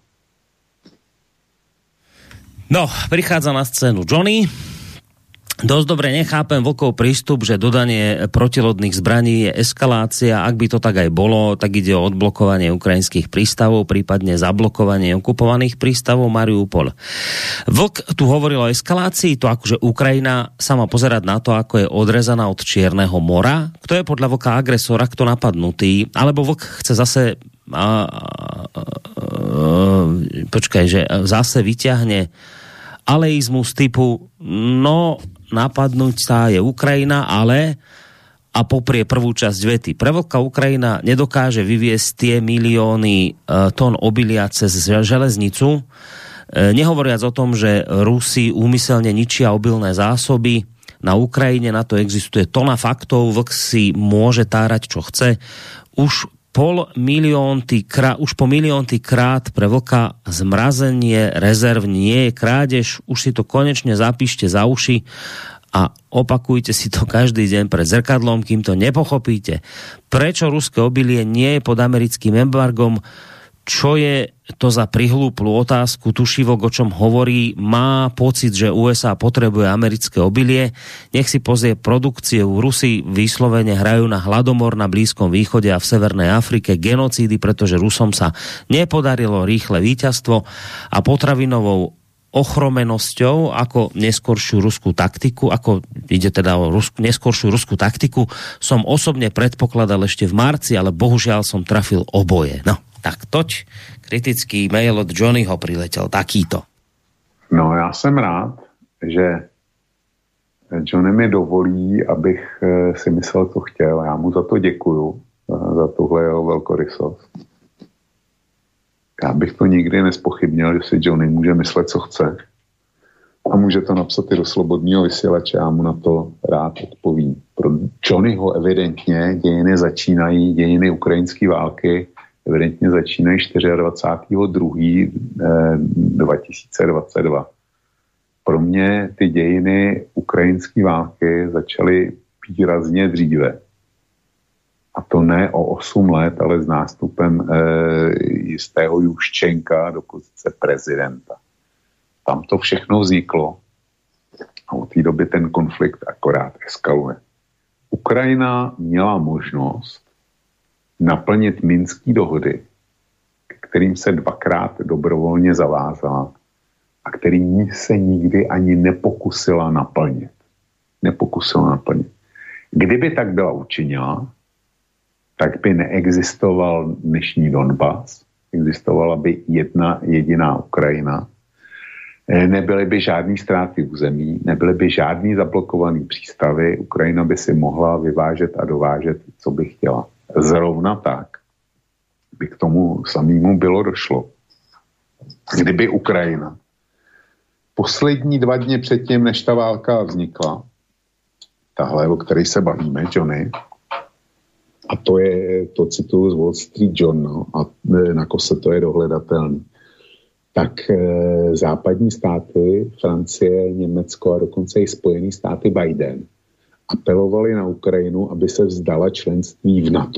B: No, prichádza na scénu Johnny. Dosť dobre nechápem Vlkov prístup, že dodanie protilodných zbraní je eskalácia. Ak by to tak aj bolo, tak ide o odblokovanie ukrajinských prístavov, prípadne zablokovanie okupovaných prístavov Mariupol. Vlk tu hovoril o eskalácii, to akože Ukrajina sa má pozerať na to, ako je odrezaná od Čierneho mora. Kto je podľa Vlka agresora, kto napadnutý? Alebo Vlk chce zase a, a, a, počkaj, že zase vyťahne aleizmus typu no, napadnúť sa je Ukrajina, ale a poprie prvú časť vety. Pre Vlka Ukrajina nedokáže vyviesť tie milióny e, tón obilia cez železnicu, e, nehovoriac o tom, že Rusi úmyselne ničia obilné zásoby na Ukrajine, na to existuje tona faktov, Vlk si môže tárať, čo chce. Už pol miliónty krát, už po miliónty krát pre Vlka zmrazenie rezerv nie je krádež, už si to konečne zapíšte za uši a opakujte si to každý deň pred zrkadlom, kým to nepochopíte. Prečo ruské obilie nie je pod americkým embargom? Čo je to za prihlúplú otázku? Tušivok, o čom hovorí, má pocit, že ú es á potrebuje americké obilie. Nech si pozrie produkciu. Rusi vyslovene hrajú na hladomor na Blízkom východe a v Severnej Afrike, genocídy, pretože Rusom sa nepodarilo rýchle víťazstvo a potravinovou ochromenosťou ako neskoršiu ruskú taktiku, ako ide teda o rusku, neskoršiu ruskú taktiku, som osobne predpokladal ešte v marci, ale bohužiaľ som trafil oboje. No. Tak toť kritický mail od Johnnyho priletel takýto.
C: No já jsem rád, že Johnny mi dovolí, abych si myslel, co chtěl. Já mu za to děkuju, za tuhle jeho velkorysost. Já bych to nikdy nespochybnil, že si Johnny může myslet, co chce. A může to napsat i do Slobodného vysílače, já mu na to rád odpovím. Pro Johnnyho evidentně dějiny začínají, dějiny ukrajinské války evidentně začínají dvacátého druhého dva tisíce dvacet dva. Pro mě ty dějiny ukrajinské války začaly výrazně dříve. A to ne o osm let, ale s nástupem e, jistého Juščenka do pozice prezidenta. Tam to všechno vzniklo a od té doby ten konflikt akorát eskaluje. Ukrajina měla možnost naplnit minské dohody, kterým se dvakrát dobrovolně zavázala a který se nikdy ani nepokusila naplnit. Nepokusila naplnit. Kdyby tak byla učinila, tak by neexistoval dnešní Donbas, existovala by jedna jediná Ukrajina, nebyly by žádný ztráty území, nebyly by žádný zablokovaný přístavy, Ukrajina by si mohla vyvážet a dovážet, co by chtěla. Zrovna tak by k tomu samému bylo došlo. Kdyby Ukrajina poslední dva dny předtím, než ta válka vznikla, tahle, o které se bavíme, Johnny, a to je, to cituju z Wall Street Journal a na kose to je dohledatelný, tak e, západní státy, Francie, Německo a dokonce i Spojené státy Biden apelovali na Ukrajinu, aby se vzdala členství v NATO.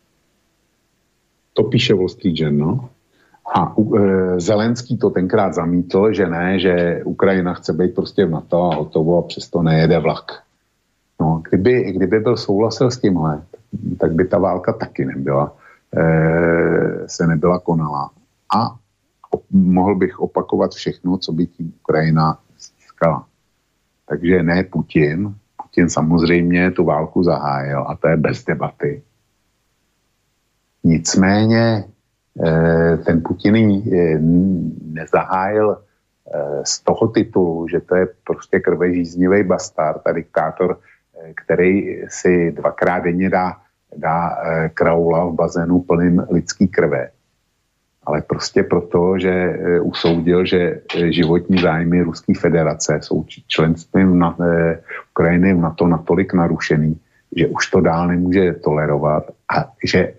C: To píše Wall Street Journal. A e, Zelenský to tenkrát zamítl, že ne, že Ukrajina chce být prostě v NATO a hotovo a přesto nejede vlak. No, kdyby, kdyby byl souhlasil s tímhle, tak by ta válka taky nebyla, e, se nebyla konala. A mohl bych opakovat všechno, co by tím Ukrajina získala. Takže ne Putin. Putin samozřejmě tu válku zahájil a to je bez debaty. Nicméně ten Putin nezahájil z toho titulu, že to je prostě krvežíznivý bastard a diktátor, který si dvakrát denně dá, dá kraula v bazénu plným lidský krve. Ale prostě proto, že usoudil, že životní zájmy Ruské federace jsou členstvím na, Ukrajiny v NATO natolik narušený, že už to dál nemůže tolerovat a že e,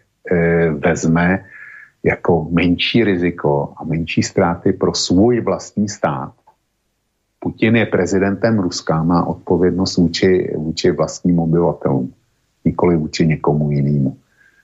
C: vezme jako menší riziko a menší ztráty pro svůj vlastní stát. Putin je prezidentem Ruska, má odpovědnost vůči, vůči vlastním obyvatelům, nikoli vůči někomu jinému.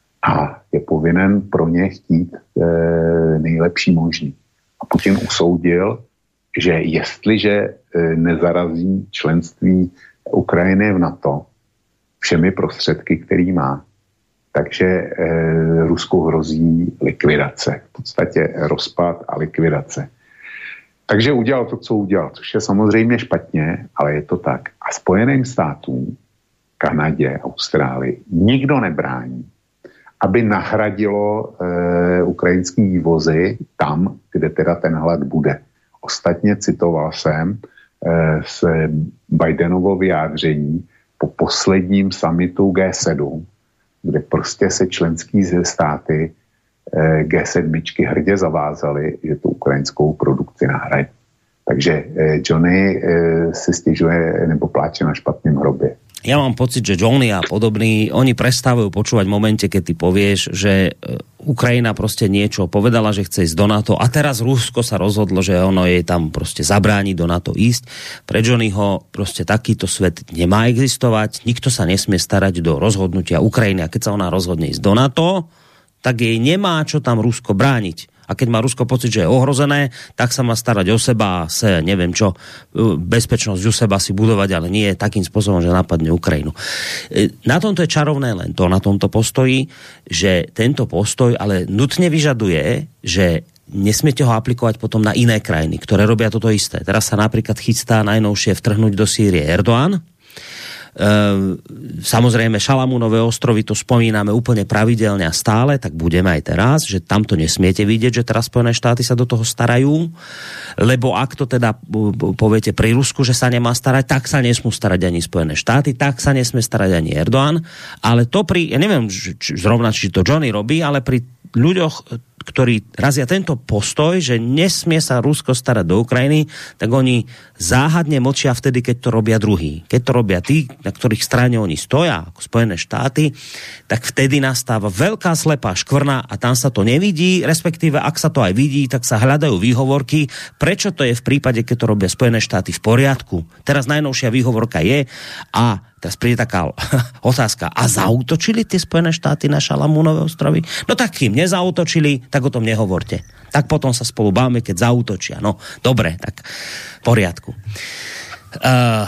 C: A je povinen pro ně chtít e, nejlepší možný. A Putin usoudil, že jestliže e, nezarazí členství Ukrajiny v NATO všemi prostředky, který má, takže e, Rusku hrozí likvidace. V podstatě rozpad a likvidace. Takže udělal to, co udělal, což je samozřejmě špatně, ale je to tak. A Spojeným státům, Kanadě, Austrálii nikdo nebrání, aby nahradilo e, ukrajinský vývozy tam, kde teda ten hlad bude. Ostatně citoval jsem e, z Bidenovo vyjádření po posledním summitu G sedm, kde prostě se členský státy e, G sedm hrdě zavázaly, že tu ukrajinskou produkci nahradí. Takže e, Johnny e, si stěžuje nebo pláče na špatném hrobě.
B: Ja mám pocit, že Johnny a podobní, oni prestávajú počúvať v momente, keď ty povieš, že Ukrajina proste niečo povedala, že chce ísť do NATO a teraz Rusko sa rozhodlo, že ono jej tam proste zabráni do NATO ísť. Pre Johnnyho proste takýto svet nemá existovať, nikto sa nesmie starať do rozhodnutia Ukrajiny a keď sa ona rozhodne ísť do NATO, tak jej nemá čo tam Rusko brániť. A keď má Rusko pocit, že je ohrozené, tak sa má starať o seba a se, neviem čo, bezpečnosť u seba si budovať, ale nie takým spôsobom, že napadne Ukrajinu. Na tomto je čarovné len to, na tomto postoji, že tento postoj ale nutne vyžaduje, že nesmiete ho aplikovať potom na iné krajiny, ktoré robia toto isté. Teraz sa napríklad chystá najnovšie vtrhnúť do Sýrie Erdoğan. samozrejme Šalamúnové ostrovy, to spomíname úplne pravidelne a stále, tak budeme aj teraz, že tamto nesmiete vidieť, že teraz Spojené štáty sa do toho starajú, lebo ak to teda poviete pri Rusku, že sa nemá starať, tak sa nesmú starať ani Spojené štáty, tak sa nesmie starať ani Erdoğan, ale to pri, ja neviem či, zrovna, či to Johnny robí, ale pri ľuďoch, ktorí razia tento postoj, že nesmie sa Rusko starať do Ukrajiny, tak oni záhadne močia vtedy, keď to robia druhí. Keď to robia tí, na ktorých strane oni stoja, ako Spojené štáty, tak vtedy nastáva veľká slepá škvrna a tam sa to nevidí, respektíve ak sa to aj vidí, tak sa hľadajú výhovorky, prečo to je v prípade, keď to robia Spojené štáty v poriadku. Teraz najnovšia výhovorka je a teraz príde taká otázka, a zaútočili tie Spojené štáty na Šalamúnové ostrovy? No tak kým nezautočili, tak o tom nehovorte. Tak potom sa spolu bávame, keď zaútočia. No, dobre, tak v poriadku. Uh,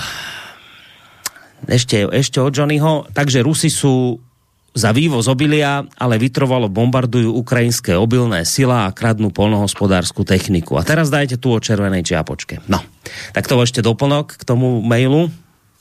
B: ešte, ešte od Johnnyho. Takže Rusi sú za vývoz obilia, ale vytrvalo bombardujú ukrajinské obilné sila a kradnú poľnohospodársku techniku. A teraz dajte tu o červenej čiapočke. No, tak to ešte doplnok k tomu mailu.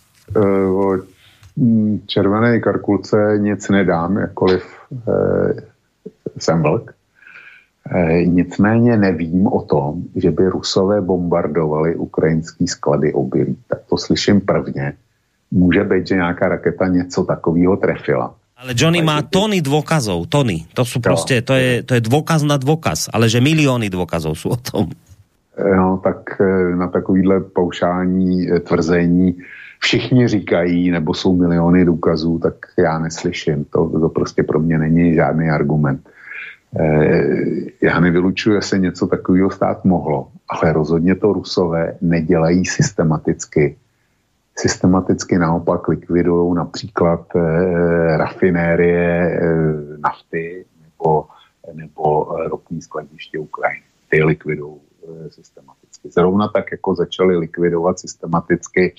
C: O červené karkulce nic nedám, jakkoliv e, jsem vlk. E, nicméně nevím o tom, že by Rusové bombardovali ukrajinský sklady obilí. Tak to slyším prvně. Může být, že nějaká raketa něco takového trefila.
B: Ale Johnny má tony dôkazov, tony. To sú proste, to je, to je dôkaz na dôkaz, ale že milióny dôkazov sú o tom.
C: No, tak na takovýhle paušální tvrzení všichni říkají, nebo jsou miliony důkazů, tak já neslyším. To, to prostě pro mě není žádný argument. E, já nevylučuji, že se něco takového stát mohlo, ale rozhodně to Rusové nedělají systematicky. Systematicky naopak likvidují například e, rafinérie e, nafty nebo, nebo ropní skladiště Ukrajiny. Ty likvidují e, systematicky. Zrovna tak, jako začali likvidovat systematicky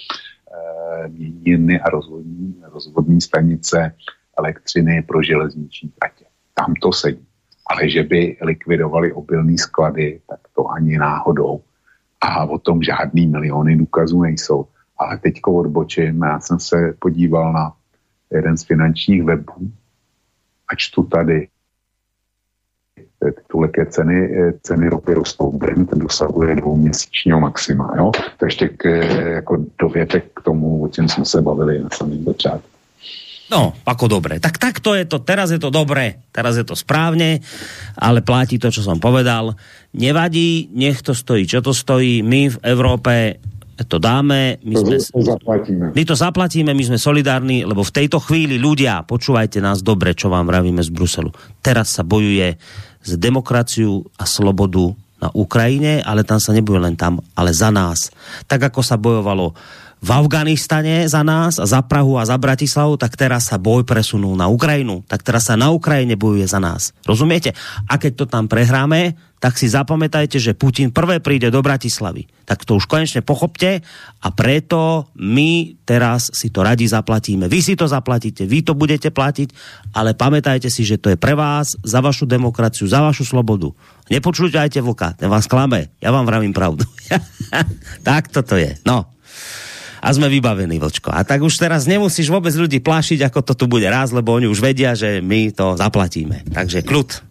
C: měniny a rozvodní, rozvodní stanice elektřiny pro železniční tratě. Tam to sedí. Ale že by likvidovali obilný sklady, tak to ani náhodou. A o tom žádný miliony důkazů nejsou. Ale teďko odbočím, já jsem se podíval na jeden z finančních webů a čtu tady tituleké ceny, ceny ropy rostou. Brent dosahuje dvouměsíčního maxima. Jo? To ještě k, jako dovětek k tomu, o čem jsme se bavili na samém začátku.
B: No, ako dobre. Tak takto je to, teraz je to dobre, teraz je to správne, ale platí to, čo som povedal. Nevadí, nech to stojí, čo to stojí. My v Európe to dáme. My, sme,
C: zaplatíme.
B: my to zaplatíme, my sme solidárni, lebo v tejto chvíli ľudia, počúvajte nás dobre, čo vám vravíme z Bruselu. Teraz sa bojuje za demokraciu a slobodu na Ukrajine, ale tam sa nebojuje len tam, ale za nás. Tak ako sa bojovalo v Afganistane za nás a za Prahu a za Bratislavu, tak teraz sa boj presunul na Ukrajinu. Tak teraz sa na Ukrajine bojuje za nás. Rozumiete? A keď to tam prehráme, tak si zapamätajte, že Putin prvé príde do Bratislavy. Tak to už konečne pochopte a preto my teraz si to radi zaplatíme. Vy si to zaplatíte, vy to budete platiť, ale pamätajte si, že to je pre vás, za vašu demokraciu, za vašu slobodu. Nepočúvajte vlka, ten vás klame. Ja vám vravím pravdu. Tak toto je. No. A sme vybavení, Vlčko. A tak už teraz nemusíš vôbec ľudí plášiť, ako to tu bude raz, lebo oni už vedia, že my to zaplatíme. Takže kľud.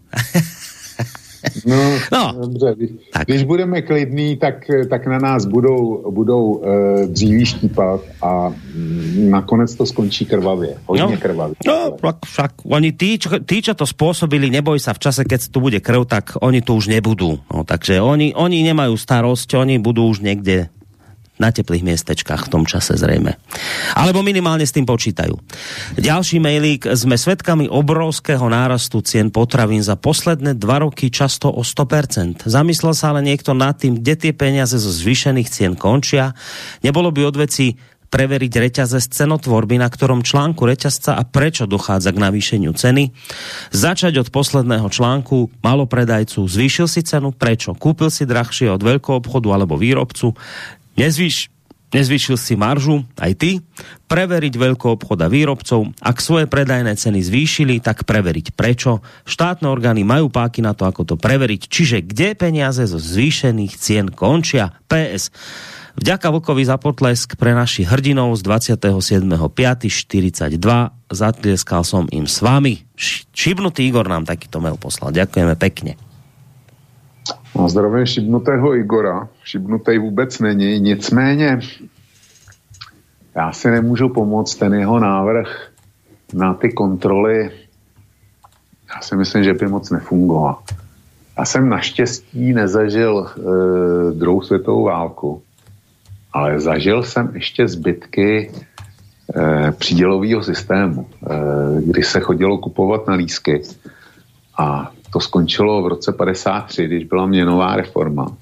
C: No, no. Dobře. Když, když budeme klidní, tak, tak na nás budou, budou e, dříví štípat a m, nakonec to skončí krvavě. Hodně no, krvavě.
B: No, však oni tí čo, tí, čo to spôsobili, neboj sa, v čase, keď tu bude krv, tak oni tu už nebudú. No, takže oni, oni nemajú starosť, oni budú už niekde na teplých miestečkách v tom čase zrejme. Alebo minimálne s tým počítajú. Ďalší mailík. Sme svedkami obrovského nárastu cien potravín za posledné dva roky, často o sto percent. Zamyslel sa ale niekto nad tým, kde tie peniaze zo zvýšených cien končia? Nebolo by od veci preveriť reťazec cenotvorby, na ktorom článku reťazca a prečo dochádza k navýšeniu ceny? Začať od posledného článku malopredajcu. Zvýšil si cenu? Prečo? Kúpil si drahšie od veľkoobchodu alebo výrobcu? Nezvýš, nezvýšil si maržu, aj ty, preveriť veľkoobchod a výrobcov, ak svoje predajné ceny zvýšili, tak preveriť prečo. Štátne orgány majú páky na to, ako to preveriť, čiže kde peniaze zo zvýšených cien končia. pé es. Vďaka Vlkovi za potlesk pre našich hrdinov z dvadsiateho siedmeho piateho štyridsaťdva. Zatlieskal som im s vami. Šibnutý Igor nám takýto mail poslal. Ďakujeme pekne.
C: No, zdravím šibnutého Igora. Šibnutej vůbec není. Nicméně já si nemůžu pomoct, ten jeho návrh na ty kontroly, já si myslím, že by moc nefungoval. Já jsem naštěstí nezažil e, druhou světovou válku, ale zažil jsem ještě zbytky e, přídělového systému, e, kdy se chodilo kupovat na lístky a to skončilo v roce padesát tři, když byla měnová reforma.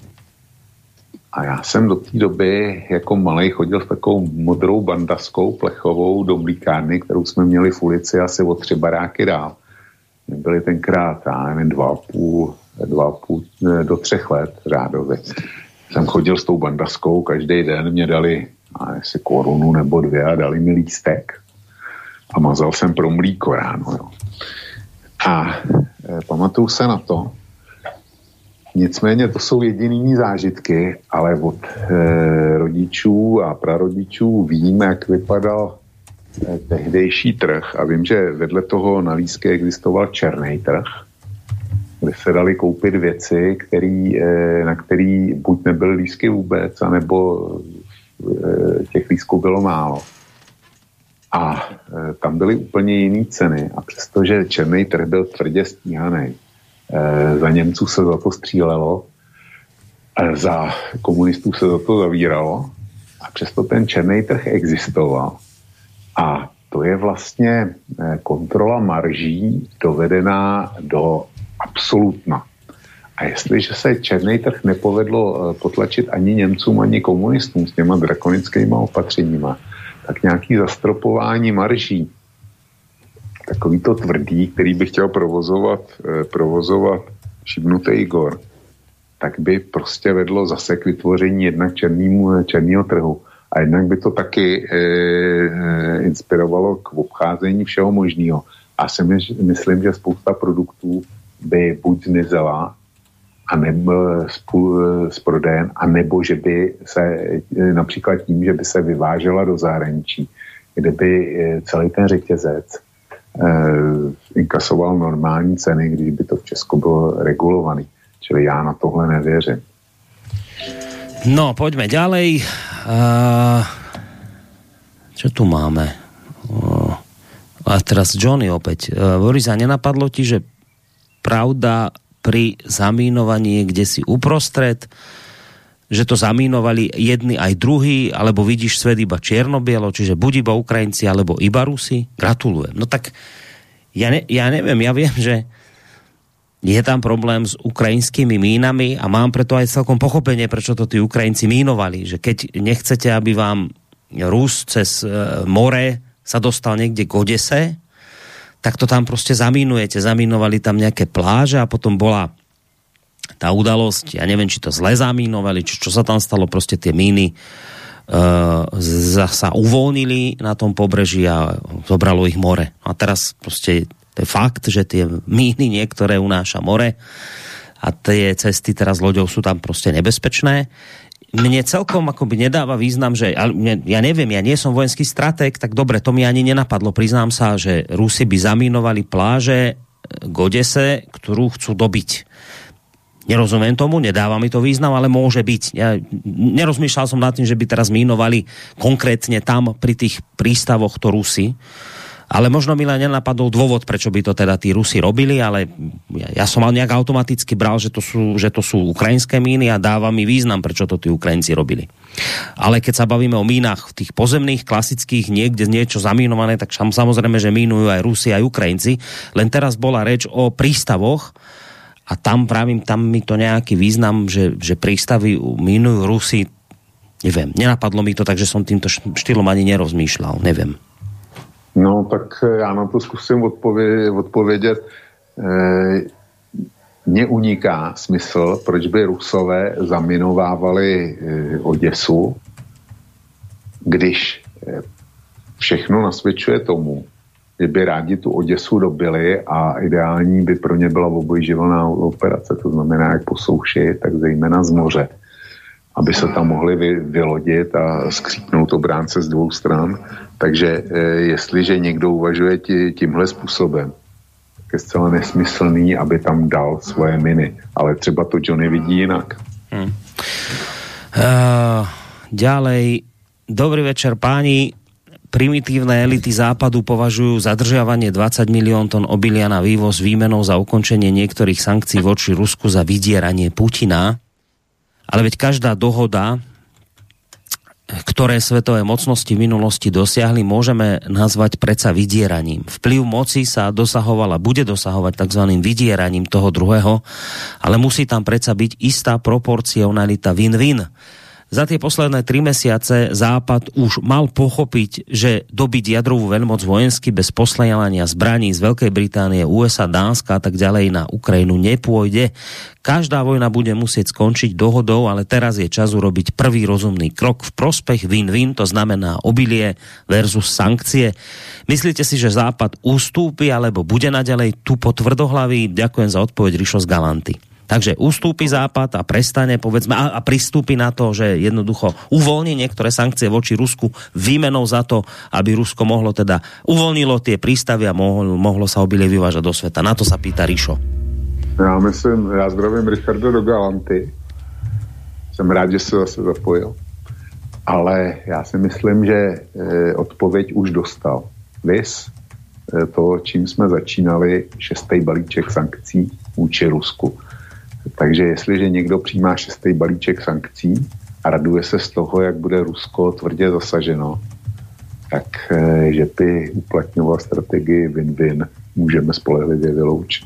C: A já jsem do té doby jako malej chodil v takovou modrou bandaskou plechovou do mlíkárny, kterou jsme měli v ulici asi o tři baráky dál. Byly tenkrát, já nevím, dva a půl, dva a půl do třech let řádově. Jsem chodil s tou bandaskou, každý den mě dali asi korunu nebo dvě a dali mi lístek. A mazal jsem pro mlíko ráno, jo. A e, pamatuju se na to. Nicméně to jsou jediný zážitky, ale od e, rodičů a prarodičů vím, jak vypadal e, tehdejší trh a vím, že vedle toho na lístky existoval černý trh, kde se dali koupit věci, který, e, na který buď nebyly lístky vůbec, anebo e, těch lístků bylo málo. A e, tam byly úplně jiné ceny a přestože černý trh byl tvrdě stíhaný, e, za Němců se za to střílelo, e, za komunistů se za to zavíralo a přesto ten černý trh existoval. A to je vlastně e, kontrola marží dovedená do absolutna. A jestliže se černý trh nepovedlo e, potlačit ani Němcům, ani komunistům s těma drakonickýma opatřeníma, tak nějaký zastropování marží, takový to tvrdý, který by chtěl provozovat, eh, provozovat šibnutý Igor, tak by prostě vedlo zase k vytvoření jednak černýmu, černýho trhu. A jednak by to taky eh, inspirovalo k obcházení všeho možného. A si myslím, že spousta produktů by buď zmizela, a nebo z prodejen, a nebo že by se například tím, že by se vyvážela do zahraničí, kde by celý ten řetězec eh, inkasoval normální ceny, když by to v Česku bylo regulovaný. Čili já na tohle nevěřím.
B: No, poďme ďalej. Uh, čo tu máme? Uh, a teraz Johnny opäť. Uh, Boris, a nenapadlo ti, že pravda pri zamínovaní kde si uprostred, že to zamínovali jedni aj druhí, alebo vidíš svet iba čierno-bielo, čiže buď iba Ukrajinci, alebo iba Rusi? Gratulujem. No tak ja, ne, ja neviem, ja viem, že je tam problém s ukrajinskými mínami a mám preto aj celkom pochopenie, prečo to tí Ukrajinci mínovali, že keď nechcete, aby vám Rus cez e, more sa dostal niekde k Odese, tak to tam proste zamínujete. Zamínovali tam nejaké pláže a potom bola tá udalosť, ja neviem, či to zle zamínovali, či čo sa tam stalo, proste tie míny uh, sa uvoľnili na tom pobreží a zobralo ich more. A teraz proste to je fakt, že tie míny niektoré unáša more a tie cesty teraz loďou sú tam proste nebezpečné. Mne celkom akoby nedáva význam, že ja neviem, ja nie som vojenský stratég, tak dobre, to mi ani nenapadlo. Priznám sa, že Rusi by zamínovali pláže k Odese, ktorú chcú dobiť. Nerozumiem tomu, nedáva mi to význam, ale môže byť. Ja nerozmýšľal som nad tým, že by teraz mínovali konkrétne tam pri tých prístavoch to Rusi. Ale možno mi len nenapadol dôvod, prečo by to teda tí Rusi robili, ale ja, ja som mal nejak automaticky bral, že to sú, že to sú ukrajinské míny a dáva mi význam, prečo to tí Ukrajinci robili. Ale keď sa bavíme o mínach tých pozemných, klasických, niekde niečo zamínované, tak samozrejme, že mínujú aj Rusi, aj Ukrajinci. Len teraz bola reč o prístavoch a tam právim, tam mi to nejaký význam, že, že prístavy mínujú Rusi, neviem, nenapadlo mi to, takže som týmto štýlom ani nerozmýšľal, neviem.
C: No, tak já na to zkusím odpovědět. odpovědět. Mně uniká smysl, proč by Rusové zaminovávali Oděsu, když všechno nasvědčuje tomu, že by rádi tu Oděsu dobili a ideální by pro ně byla obojživelná operace, to znamená jak po souši, tak zejména z moře. aby se tam mohli vy, vylodit a skřípnout obránce z dvou stran. Takže e, jestliže někdo uvažuje tí, tímhle způsobem, tak je zcela nesmyslný, aby tam dal svoje miny. Ale třeba to Johnny vidí jinak. Hmm.
B: Uh, ďalej, dobrý večer páni. Primitívne elity západu považujú zadržiavanie dvadsať milión tón obilia na vývoz výmenou za ukončenie niektorých sankcií voči Rusku za vydieranie Putina. Ale veď každá dohoda, ktoré svetové mocnosti v minulosti dosiahli, môžeme nazvať predsa vydieraním. Vplyv moci sa dosahovala, bude dosahovať tzv. Vydieraním toho druhého, ale musí tam predsa byť istá proporcionalita win-win. Za tie posledné tri mesiace Západ už mal pochopiť, že dobiť jadrovú veľmoc vojensky bez posledania zbraní z Veľkej Británie, ú es á, Dánska a tak ďalej na Ukrajinu nepôjde. Každá vojna bude musieť skončiť dohodou, ale teraz je čas urobiť prvý rozumný krok v prospech win-win, to znamená obilie versus sankcie. Myslíte si, že Západ ustúpi alebo bude naďalej tupo tvrdohlavý? Ďakujem za odpoveď, Rišo z Galanty. Takže ustúpi Západ a prestane, povedzme, a, a pristúpi na to, že jednoducho uvoľní niektoré sankcie voči Rusku výmenou za to, aby Rusko mohlo teda uvoľnilo tie prístavy a mohlo, mohlo sa obilie vyvážať do sveta. Na to sa pýta Rišo.
C: Já myslím, já zdravím Richarda do Galanty. Jsem rád, že se zase zapojil. Ale já si myslím, že e, odpověď už dostal. Vys, e, to, čím jsme začínali, šestý balíček sankcí vůči Rusku. Takže jestliže někdo přijímá šestý balíček sankcí a raduje se z toho, jak bude Rusko tvrdě zasaženo, tak e, že by uplatňoval strategii win-win, můžeme spolehlivě vyloučit.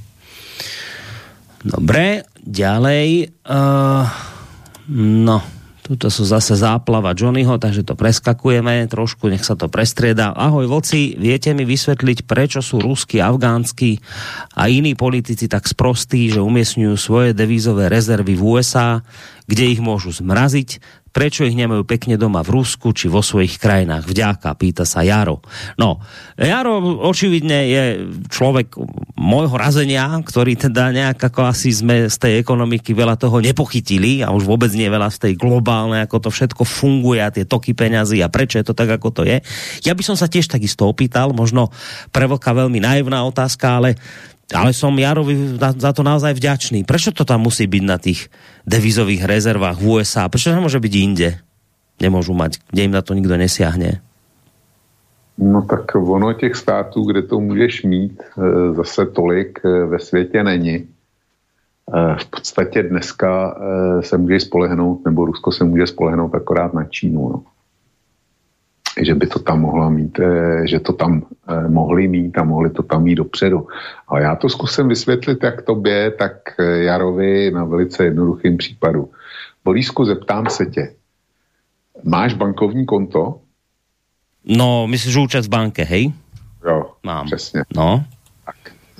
B: Dobre, ďalej. Uh, no, tuto sú zase záplava Johnnyho, takže to preskakujeme trošku, nech sa to prestrieda. Ahoj, vlci, viete mi vysvetliť, prečo sú ruskí, afgánsky a iní politici tak sprostí, že umiestňujú svoje devízové rezervy v ú es á, kde ich môžu zmraziť? Prečo ich nemajú pekne doma v Rusku či vo svojich krajinách? Vďaka, pýta sa Jaro. No, Jaro očividne je človek môjho razenia, ktorý teda nejak ako asi sme z tej ekonomiky veľa toho nepochytili a už vôbec nie veľa z tej globálnej, ako to všetko funguje a tie toky peňazí a prečo je to tak, ako to je. Ja by som sa tiež takisto opýtal, možno pre vlka veľmi naivná otázka, ale Ale som Jarovi za to naozaj vďačný. Prečo to tam musí byť na tých devizových rezervách v ú es á? Prečo to môže byť inde? Nemôžu mať, kde im na to nikto nesiahne.
C: No tak ono těch států, kde to můžeš mít, zase tolik ve světě není. V podstatě dneska se může spolehnout, nebo Rusko se může spolehnout akorát na Čínu, no. Že by to tam mohla mít, že to tam mohli mít a mohli to tam mít dopředu. Ale já to zkusím vysvětlit jak tobě, tak Jarovi na velice jednoduchým případu. Borísku, zeptám se tě. Máš bankovní konto?
B: No, myslíš, že účet v banke, hej?
C: Jo,
B: mám.
C: Přesně.
B: No.
C: Tak.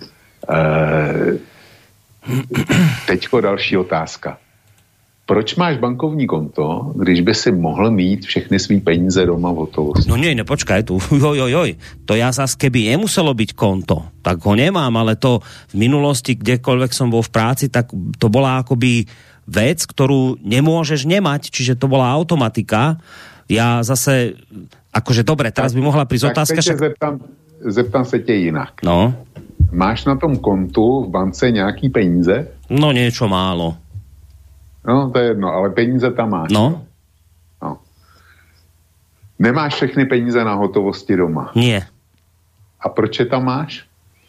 C: E, teďko další otázka. Proč máš bankovní konto, když by si mohl mít všechny svý peníze doma v hotovosti?
B: No nie, ne, počkaj tu. Joj, joj, joj. To ja zas, keby nemuselo byť konto, tak ho nemám, ale to v minulosti, kdekoľvek som bol v práci, tak to bola akoby vec, ktorú nemôžeš nemať, čiže to bola automatika. Ja zase, akože dobre, teraz by mohla prísť otázka.
C: Tak však... zeptám, zeptám se tě jinak.
B: No.
C: Máš na tom kontu v bance nějaký peníze?
B: No niečo málo.
C: No, to je jedno, ale peníze tam máš.
B: No.
C: no. Nemáš všechny peníze na hotovosti doma?
B: Nie.
C: A proč je tam máš?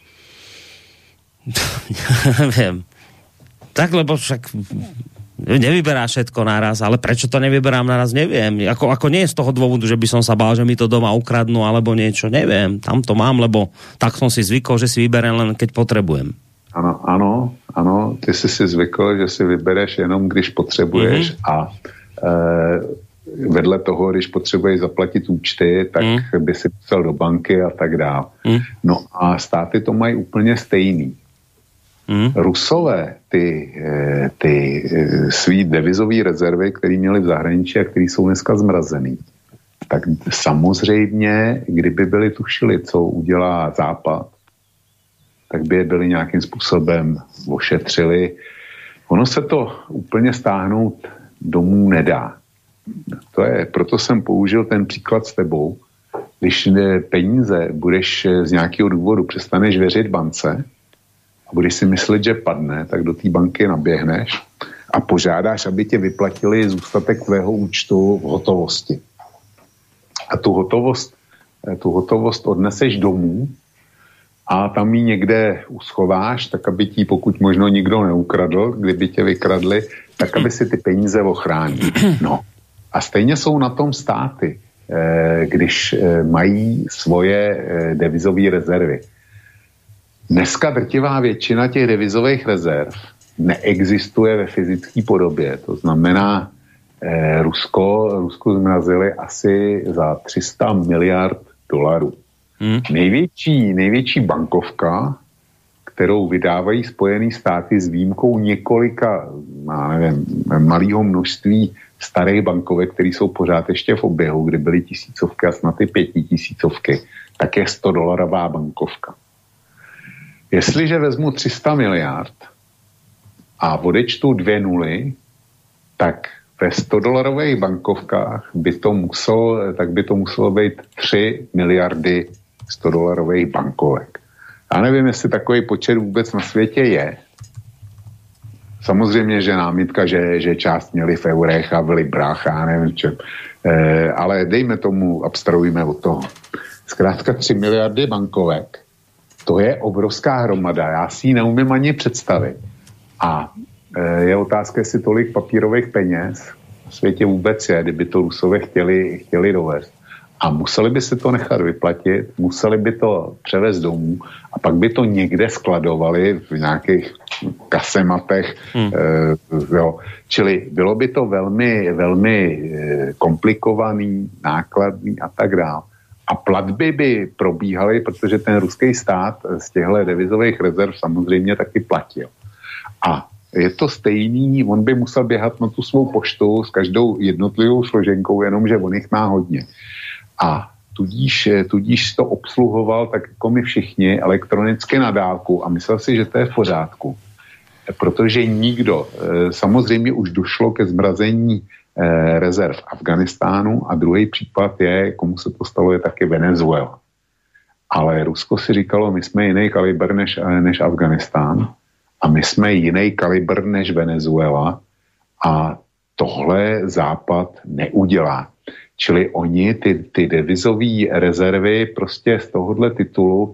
B: Neviem. Tak, lebo však nevyberá všetko naraz, ale prečo to nevyberám naraz, neviem. Ako, ako nie je z toho dôvodu, že by som sa bál, že mi to doma ukradnú, alebo niečo, neviem. Tam to mám, lebo tak som si zvykol, že si vyberiem len keď potrebujem.
C: Ano, ano, ano, ty jsi si zvykl, že si vybereš jenom, když potřebuješ mm-hmm. a e, vedle toho, když potřebuješ zaplatit účty, tak mm. by si psal do banky a tak dále. Mm. No a státy to mají úplně stejný. Mm. Rusové ty, ty svý devizové rezervy, které měli v zahraničí a které jsou dneska zmrazený, tak samozřejmě, kdyby byli tušili, co udělá Západ, tak by je byli nějakým způsobem ošetřili. Ono se to úplně stáhnout domů nedá. To je, proto jsem použil ten příklad s tebou. Když peníze budeš z nějakého důvodu přestaneš věřit bance a budeš si myslet, že padne, tak do té banky naběhneš a požádáš, aby tě vyplatili zůstatek tvého účtu v hotovosti. A tu hotovost, tu hotovost odneseš domů a tam ji někde uschováš, tak aby ti pokud možno nikdo neukradl, kdyby tě vykradli, tak aby si ty peníze ochránil. No. A stejně jsou na tom státy, když mají svoje devizové rezervy. Dneska drtivá většina těch devizových rezerv neexistuje ve fyzické podobě. To znamená, Rusko, Rusko zmrazili asi za tři sta miliard dolarů. Hmm. Největší, největší bankovka, kterou vydávají Spojené státy s výjimkou několika, já nevím, malého množství starých bankovek, které jsou pořád ještě v oběhu, kdy byly tisícovky a snad i pětitisícovky, tak je sto dolarová bankovka. Jestliže vezmu tři sta miliard a odečtu dvě nuly, tak ve sto dolarových bankovkách by to muselo, tak by to muselo být tři miliardy sto dolarových bankovek. Já nevím, jestli takový počet vůbec na světě je. Samozřejmě, že námitka, že, že část měli v eurech a v librách, já nevím čem. E, ale dejme tomu, abstrahujme od toho. Zkrátka tři miliardy bankovek, to je obrovská hromada. Já si ji neumím ani představit. A e, je otázka, jestli tolik papírových peněz na světě vůbec je, kdyby to Rusové chtěli, chtěli dovést. A museli by se to nechat vyplatit, museli by to převést domů a pak by to někde skladovali v nějakých kasematech. Hmm. E, jo. Čili bylo by to velmi, velmi komplikovaný, nákladný a tak dále. A platby by probíhaly, protože ten ruský stát z těchto devizových rezerv samozřejmě taky platil. A je to stejný, on by musel běhat na tu svou poštu s každou jednotlivou složenkou, jenomže on jich má hodně. A tudíž, tudíž to obsluhoval tak jako my všichni elektronicky na dálku a myslel si, že to je v pořádku. Protože nikdo, samozřejmě už došlo ke zmrazení rezerv Afganistánu a druhý případ je, komu se to stalo, je taky Venezuela. Ale Rusko si říkalo, my jsme jiný kalibr než, než Afganistán a my jsme jiný kalibr než Venezuela a tohle Západ neudělá. Čili oni ty, ty devizové rezervy prostě z tohohle titulu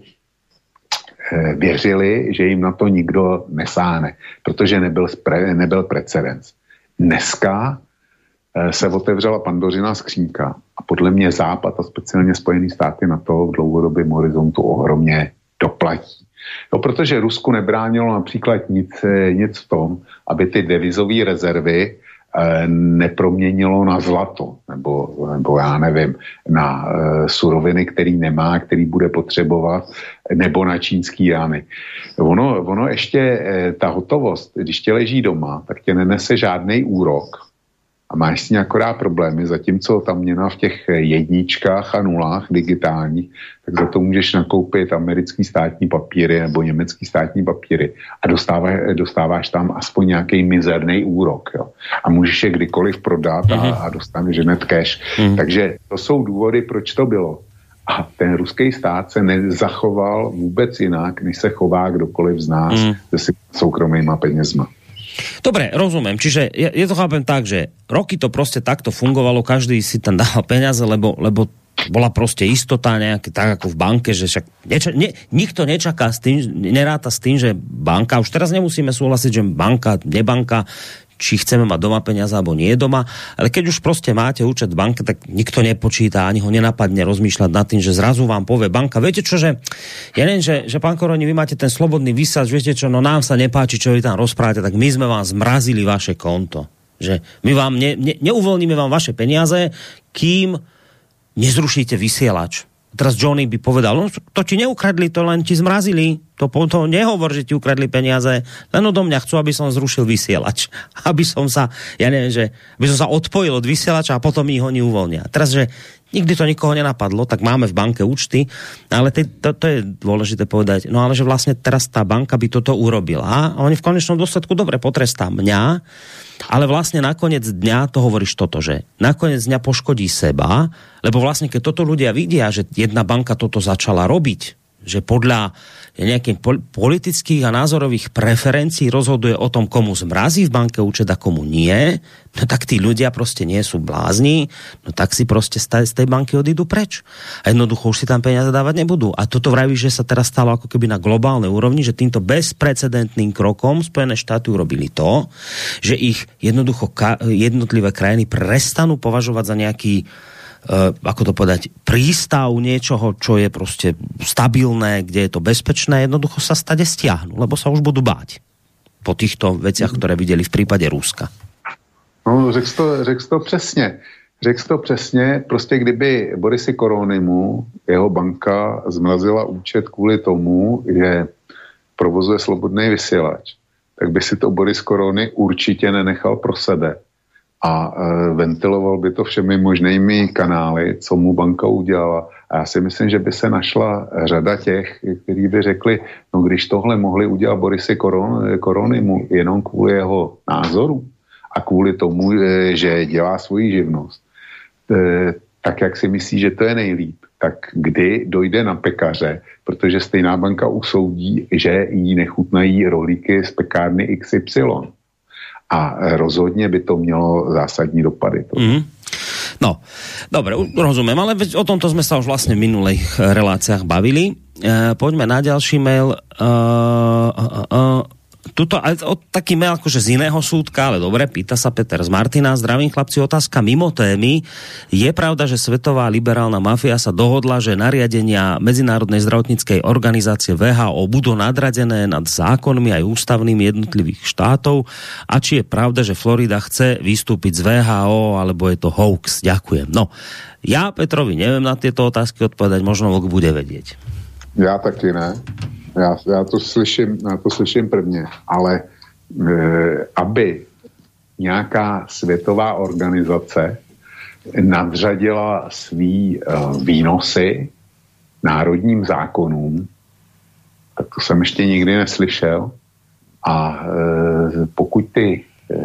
C: eh, věřili, že jim na to nikdo nesáhne, protože nebyl, spre, nebyl precedens. Dneska eh, se otevřela Pandořina skřínka a podle mě Západ a speciálně Spojené státy na to v dlouhodobém horizontu ohromně doplatí. No, protože Rusku nebránilo například nic, nic v tom, aby ty devizové rezervy neproměnilo na zlato, nebo, nebo já nevím, na uh, suroviny, který nemá, který bude potřebovat, nebo na čínský jány. Ono, ono ještě, eh, ta hotovost, když tě leží doma, tak tě nenese žádný úrok a máš s ní akorát problémy, zatímco ta měna v těch jedničkách a nulách digitálních, tak za to můžeš nakoupit americký státní papíry nebo německý státní papíry a dostáváš, dostáváš tam aspoň nějaký mizerný úrok. Jo. A můžeš je kdykoliv prodat a, a dostaneš hned cash. Mm-hmm. Takže to jsou důvody, proč to bylo. A ten ruský stát se nezachoval vůbec jinak, než se chová kdokoliv z nás mm. se soukromýma penězma.
B: Dobre, rozumiem. Čiže ja, ja to chápem tak, že roky to proste takto fungovalo, každý si tam dával peniaze, lebo, lebo bola proste istota nejaké, tak ako v banke, že však neča, ne, nikto nečaká s tým, neráta s tým, že banka, už teraz nemusíme súhlasiť, že banka, nebanka, či chceme mať doma peniaze, alebo nie doma, ale keď už proste máte účet v banke, tak nikto nepočíta, ani ho nenapadne rozmýšľať nad tým, že zrazu vám povie banka, viete čo, že ja neviem, že, že pán Koroni, vy máte ten slobodný výsač, viete čo, no nám sa nepáči, čo vy tam rozprávate, tak my sme vám zmrazili vaše konto. Že my vám ne, ne, neuvoľníme vám vaše peniaze, kým nezrušíte vysielač. Teraz Johnny by povedal, no to ti neukradli, to len ti zmrazili. To, to nehovor, že ti ukradli peniaze, len odo mňa chcú, aby som zrušil vysielač. Aby som sa, ja neviem, že aby som sa odpojil od vysielača a potom ich oni uvoľnia. Teraz, že nikdy to nikoho nenapadlo, tak máme v banke účty, ale to, to, to je dôležité povedať. No ale že vlastne teraz tá banka by toto urobila a oni v konečnom dôsledku dobre potrestá mňa, ale vlastne nakoniec dňa to hovoríš toto, že nakoniec dňa poškodí seba, lebo vlastne keď toto ľudia vidia, že jedna banka toto začala robiť, že podľa nejakých politických a názorových preferencií rozhoduje o tom, komu zmrazí v banke účet a komu nie, no tak tí ľudia proste nie sú blázni, no tak si proste z tej banky odídu preč. A jednoducho už si tam peniaze dávať nebudú. A toto vravíš, že sa teraz stalo ako keby na globálnej úrovni, že týmto bezprecedentným krokom Spojené štáty urobili to, že ich jednoducho jednotlivé krajiny prestanú považovať za nejaký Uh, ako to povedať, prístav niečoho, čo je proste stabilné, kde je to bezpečné, jednoducho sa stade stiahnu, lebo sa už budú báť po týchto veciach, ktoré videli v prípade Ruska.
C: No, řekl to, řekl to přesně. Řekl to přesně, prostě kdyby Borisi Koronimu jeho banka zmrazila účet kvůli tomu, že provozuje slobodný vysílač, tak by si to Boris Korony určitě nenechal pro sebe. A e, ventiloval by to všemi možnými kanály, co mu banka udělala. A já si myslím, že by se našla řada těch, kteří by řekli, no když tohle mohli udělat Borisi Koron, Koronimu jenom kvůli jeho názoru a kvůli tomu, e, že dělá svoji živnost, e, tak jak si myslí, že to je nejlíp, tak kdy dojde na pekaře, protože stejná banka usoudí, že jí nechutnají rohlíky z pekárny iks ypsilon. A rozhodne by to mělo zásadní dopady.
B: Mm. No, dobre, rozumiem, ale o tomto sme sa už vlastne v minulých reláciách bavili. E, poďme na ďalší mail. E, e, e, tuto, o, taký mail akože z iného súdka, ale dobre, pýta sa Peter z Martina. Zdravím chlapci, otázka mimo témy. Je pravda, že svetová liberálna mafia sa dohodla, že nariadenia Medzinárodnej zdravotníckej organizácie vé há ó budú nadradené nad zákonmi aj ústavnými jednotlivých štátov? A či je pravda, že Florida chce vystúpiť z vé há ó, alebo je to hoax? Ďakujem. No, ja Petrovi neviem na tieto otázky odpovedať, možno Vlk bude vedieť.
C: Ja taky ne. Já, já, to slyším, já to slyším prvně, ale e, aby nějaká světová organizace nadřadila svý e, výnosy národním zákonům, tak to jsem ještě nikdy neslyšel. A e, pokud ty e,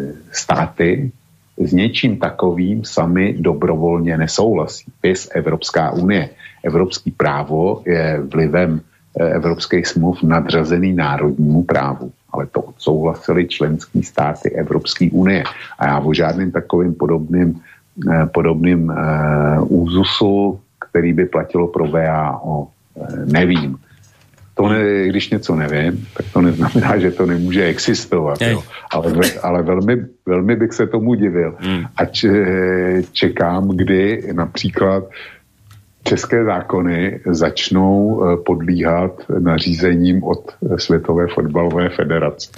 C: státy s něčím takovým sami dobrovolně nesouhlasí, pys Evropská unie, evropský právo je vlivem evropských smluv nadřazený národnímu právu. Ale to odsouhlasili členský státy Evropské unie. A já o žádným takovým podobným, podobným uh, úzusu, který by platilo pro vé há ó, nevím. To ne, když něco nevím, tak to neznamená, že to nemůže existovat. Jo. Ale, ale velmi, velmi bych se tomu divil. Hmm. A čekám, kdy například české zákony začnou podlíhat nařízením od Světové fotbalové federace.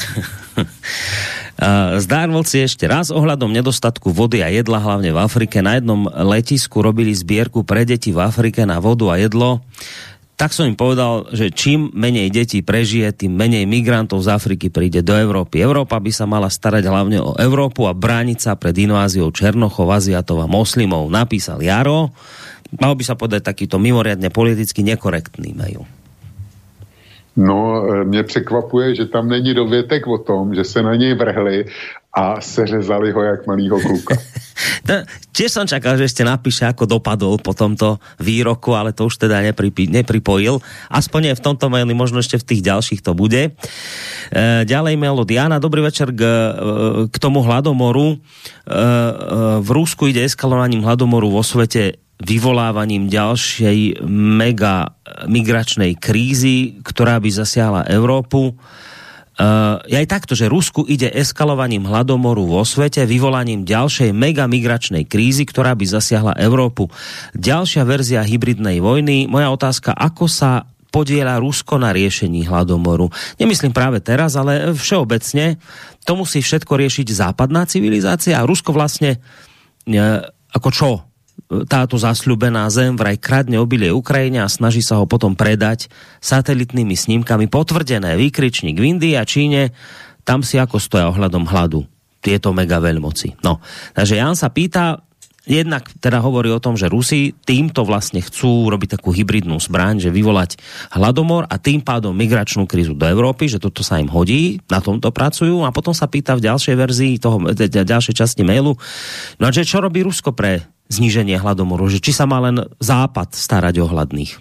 B: Zdárvolci ešte raz ohľadom nedostatku vody a jedla, hlavne v Afrike. Na jednom letisku robili zbierku pre deti v Afrike na vodu a jedlo. Tak som im povedal, že čím menej detí prežije, tým menej migrantov z Afriky príde do Európy. Európa by sa mala starať hlavne o Európu a brániť sa pred inváziou Černochov, Aziatov a moslimov. Napísal Jaro. Mal by sa povedať takýto mimoriadne politicky nekorektný mail.
C: No, mě překvapuje, že tam není dovětek o tom, že se na něj vrhli a seřezali ho jak malýho kluka.
B: Tiež som čakal, že ešte napíše, ako dopadol po tomto výroku, ale to už teda nepripi- nepripojil. Aspoň nie v tomto maili, možno ešte v tých ďalších to bude. E, ďalej mail od Jana. Dobrý večer k, k tomu hladomoru. E, e, v Rusku ide eskalovaním hladomoru vo svete vyvolávaním ďalšej mega migračnej krízy, ktorá by zasiahla Európu. Uh, je aj takto, že Rusku ide eskalovaním hladomoru vo svete, vyvolaním ďalšej mega migračnej krízy, ktorá by zasiahla Európu. Ďalšia verzia hybridnej vojny. Moja otázka, ako sa podieľa Rusko na riešení hladomoru? Nemyslím práve teraz, ale všeobecne. To musí všetko riešiť západná civilizácia a Rusko vlastne uh, ako čo? táto zasľúbená zem vraj kradne obilie Ukrajine a snaží sa ho potom predať satelitnými snímkami potvrdené. Výkričník v Indii a Číne, tam si ako stoja ohľadom hladu tieto mega veľmoci. No, takže Jan sa pýta, jednak teda hovorí o tom, že Rusi týmto vlastne chcú robiť takú hybridnú zbraň, že vyvolať hladomor a tým pádom migračnú krízu do Európy, že toto sa im hodí, na tomto pracujú a potom sa pýta v ďalšej verzii toho, ďalšej časti mailu, no a že čo robí Rusko pre zníženie hladomoru, že či sa má len Západ starať o hladných?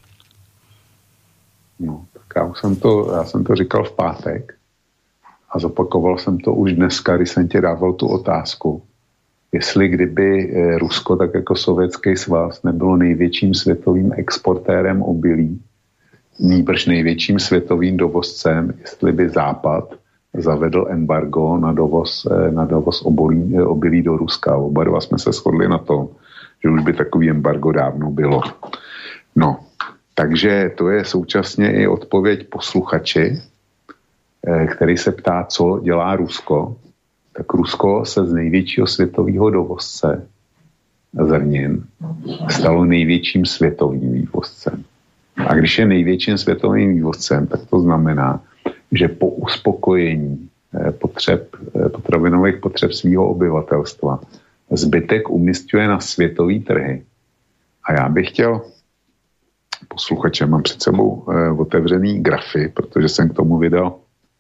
C: No, tak já jsem to, já jsem to říkal v pátek a zopakoval jsem to už dneska, když jsem ti dával tu otázku, jestli kdyby Rusko, tak jako Sovětský svaz, nebylo největším světovým exportérem obilí, nýbrž největším světovým dovozcem, jestli by Západ zavedl embargo na dovoz, na dovoz obolí, obilí do Ruska. Oba dva jsme se shodli na tom, že už by takový embargo dávno bylo. No, takže to je současně i odpověď posluchači, který se ptá, co dělá Rusko. Tak Rusko se z největšího světového dovozce zrnin stalo největším světovým vývozcem. A když je největším světovým vývozcem, tak to znamená, že po uspokojení potřeb, potravinových potřeb svého obyvatelstva zbytek umísťuje na světový trhy. A já bych chtěl posluchače, mám před sebou otevřený grafy, protože jsem k tomu vydal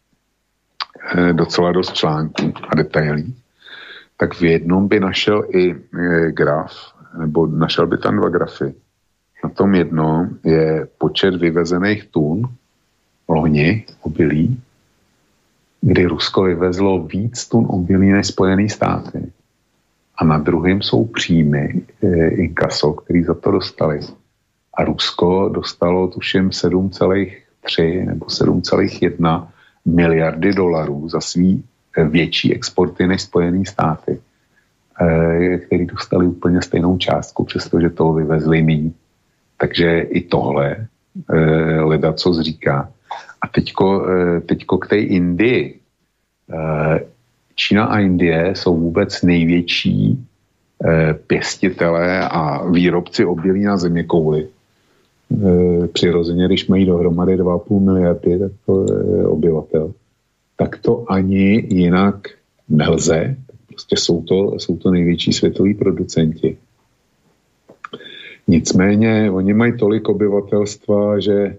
C: docela dost článků a detailí, tak v jednom by našel i graf, nebo našel by tam dva grafy. Na tom jednom je počet vyvezených tun loni obilí, kdy Rusko vyvezlo víc tun obilí než Spojené státy. A na druhém jsou příjmy inkaso, který za to dostali. A Rusko dostalo tuším sedm celá tři nebo sedm celá jedna miliardy dolarů za svý větší exporty než Spojené státy, který dostali úplně stejnou částku, přestože toho vyvezli míň. Takže i tohle ledacos říká. A teďko, teďko k té Indii. Čína a Indie jsou vůbec největší pěstitelé a výrobci obilí na zeměkouli. Přirozeně, když mají dohromady dva a půl miliardy tak to, obyvatel, tak to ani jinak nelze. Prostě jsou to, jsou to největší světoví producenti. Nicméně oni mají tolik obyvatelstva, že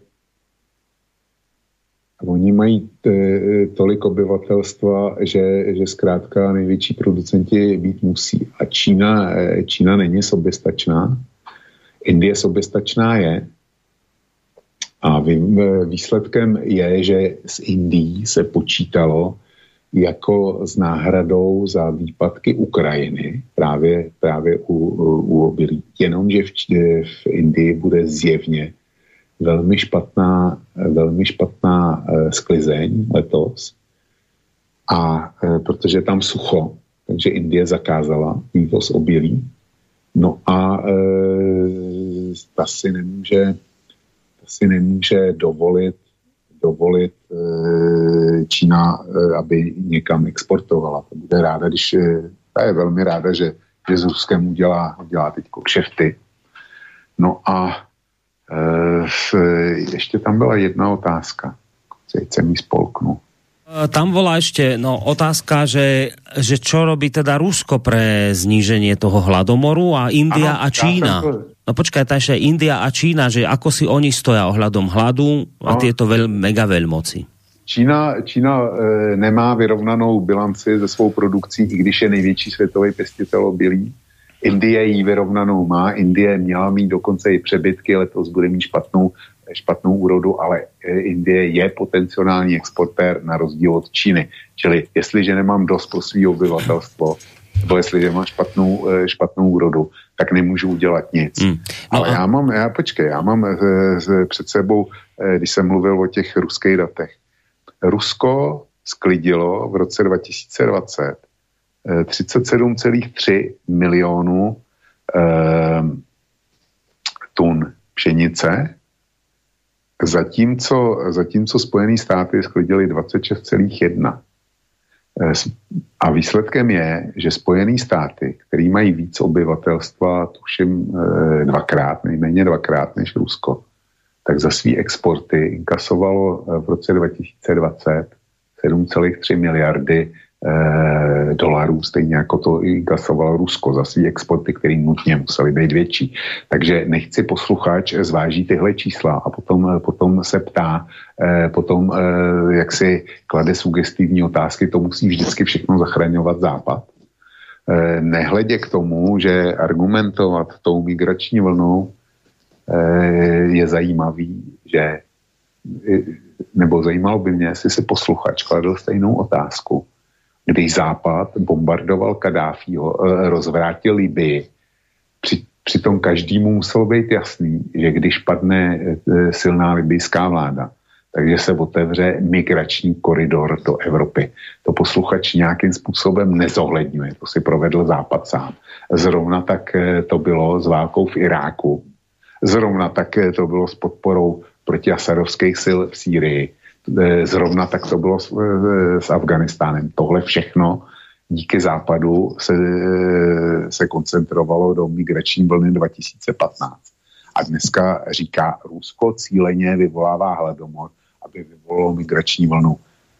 C: oni mají t, tolik obyvatelstva, že, že zkrátka největší producenti být musí. A Čína, Čína není soběstačná. Indie soběstačná je. A výsledkem je, že z Indií se počítalo jako s náhradou za výpadky Ukrajiny, právě, právě u, u obilí. Jenomže v, v Indii bude zjevně velmi špatná, velmi špatná e, sklizeň letos. A e, protože je tam sucho, takže Indie zakázala vývoz obilí. No a e, ta si nemůže si nemůže dovolit, dovolit e, Čína, e, aby někam exportovala. To bude ráda, když ta je velmi ráda, že, že s Ruskem udělá, udělá teď kšefty. No a e, ještě tam byla jedna otázka. Teď jsem ji spolknu.
B: Tam bola ešte no, otázka, že, že čo robí teda Rusko pre zníženie toho hladomoru a India ano, a Čína. No počkaj, tá ešte India a Čína, že ako si oni stoja ohľadom hladu a no, tieto veľ, mega veľmoci.
C: Čína, Čína e, nemá vyrovnanou bilanci ze svou produkcí, i když je největší světový pěstitel obilí. Indie ji vyrovnanou má. Indie měla mít dokonce i přebytky, letos bude mít špatnou špatnou úrodu, ale Indie je potenciální exportér na rozdíl od Číny. Čili jestliže nemám dost pro svý obyvatelstvo, nebo jestliže mám špatnou, špatnou úrodu, tak nemůžu udělat nic. Mm. No ale a... já mám, já počkej, já mám z, před sebou, když jsem mluvil o těch ruských datech. Rusko sklidilo v roce dva tisíce dvacet třicet sedm celá tři milionů eh, tun pšenice, Zatímco, zatímco Spojené státy sklidily dvacet šest celá jedna. A výsledkem je, že Spojené státy, který mají víc obyvatelstva, tuším dvakrát, nejméně dvakrát než Rusko, tak za svý exporty inkasovalo v roce dva tisíce dvacet sedm celá tři miliardy eh, dolarů, stejně jako to inkasovalo Rusko za svý exporty, které nutně musely být větší. Takže nechci posluchač zváží tyhle čísla a potom, potom se ptá, eh, potom eh, jak si klade sugestivní otázky, to musí vždycky všechno zachraňovat Západ. Eh, nehledě k tomu, že argumentovat tou migrační vlnou je zajímavý, že nebo zajímalo by mě, jestli si posluchač kladl stejnou otázku, když Západ bombardoval Kadáfího, rozvrátil Libii, při, přitom každému muselo být jasný, že když padne silná libijská vláda, takže se otevře migrační koridor do Evropy. To posluchač nějakým způsobem nezohledňuje, to si provedl Západ sám. Zrovna tak to bylo s válkou v Iráku. Zrovna tak to bylo s podporou protiasadovských sil v Sýrii. Zrovna tak to bylo s, s Afganistánem. Tohle všechno díky Západu se, se koncentrovalo do migrační vlny dva tisíce patnáct. A dneska říká, Rusko cíleně vyvolává hladomor, aby vyvolalo migrační vlnu.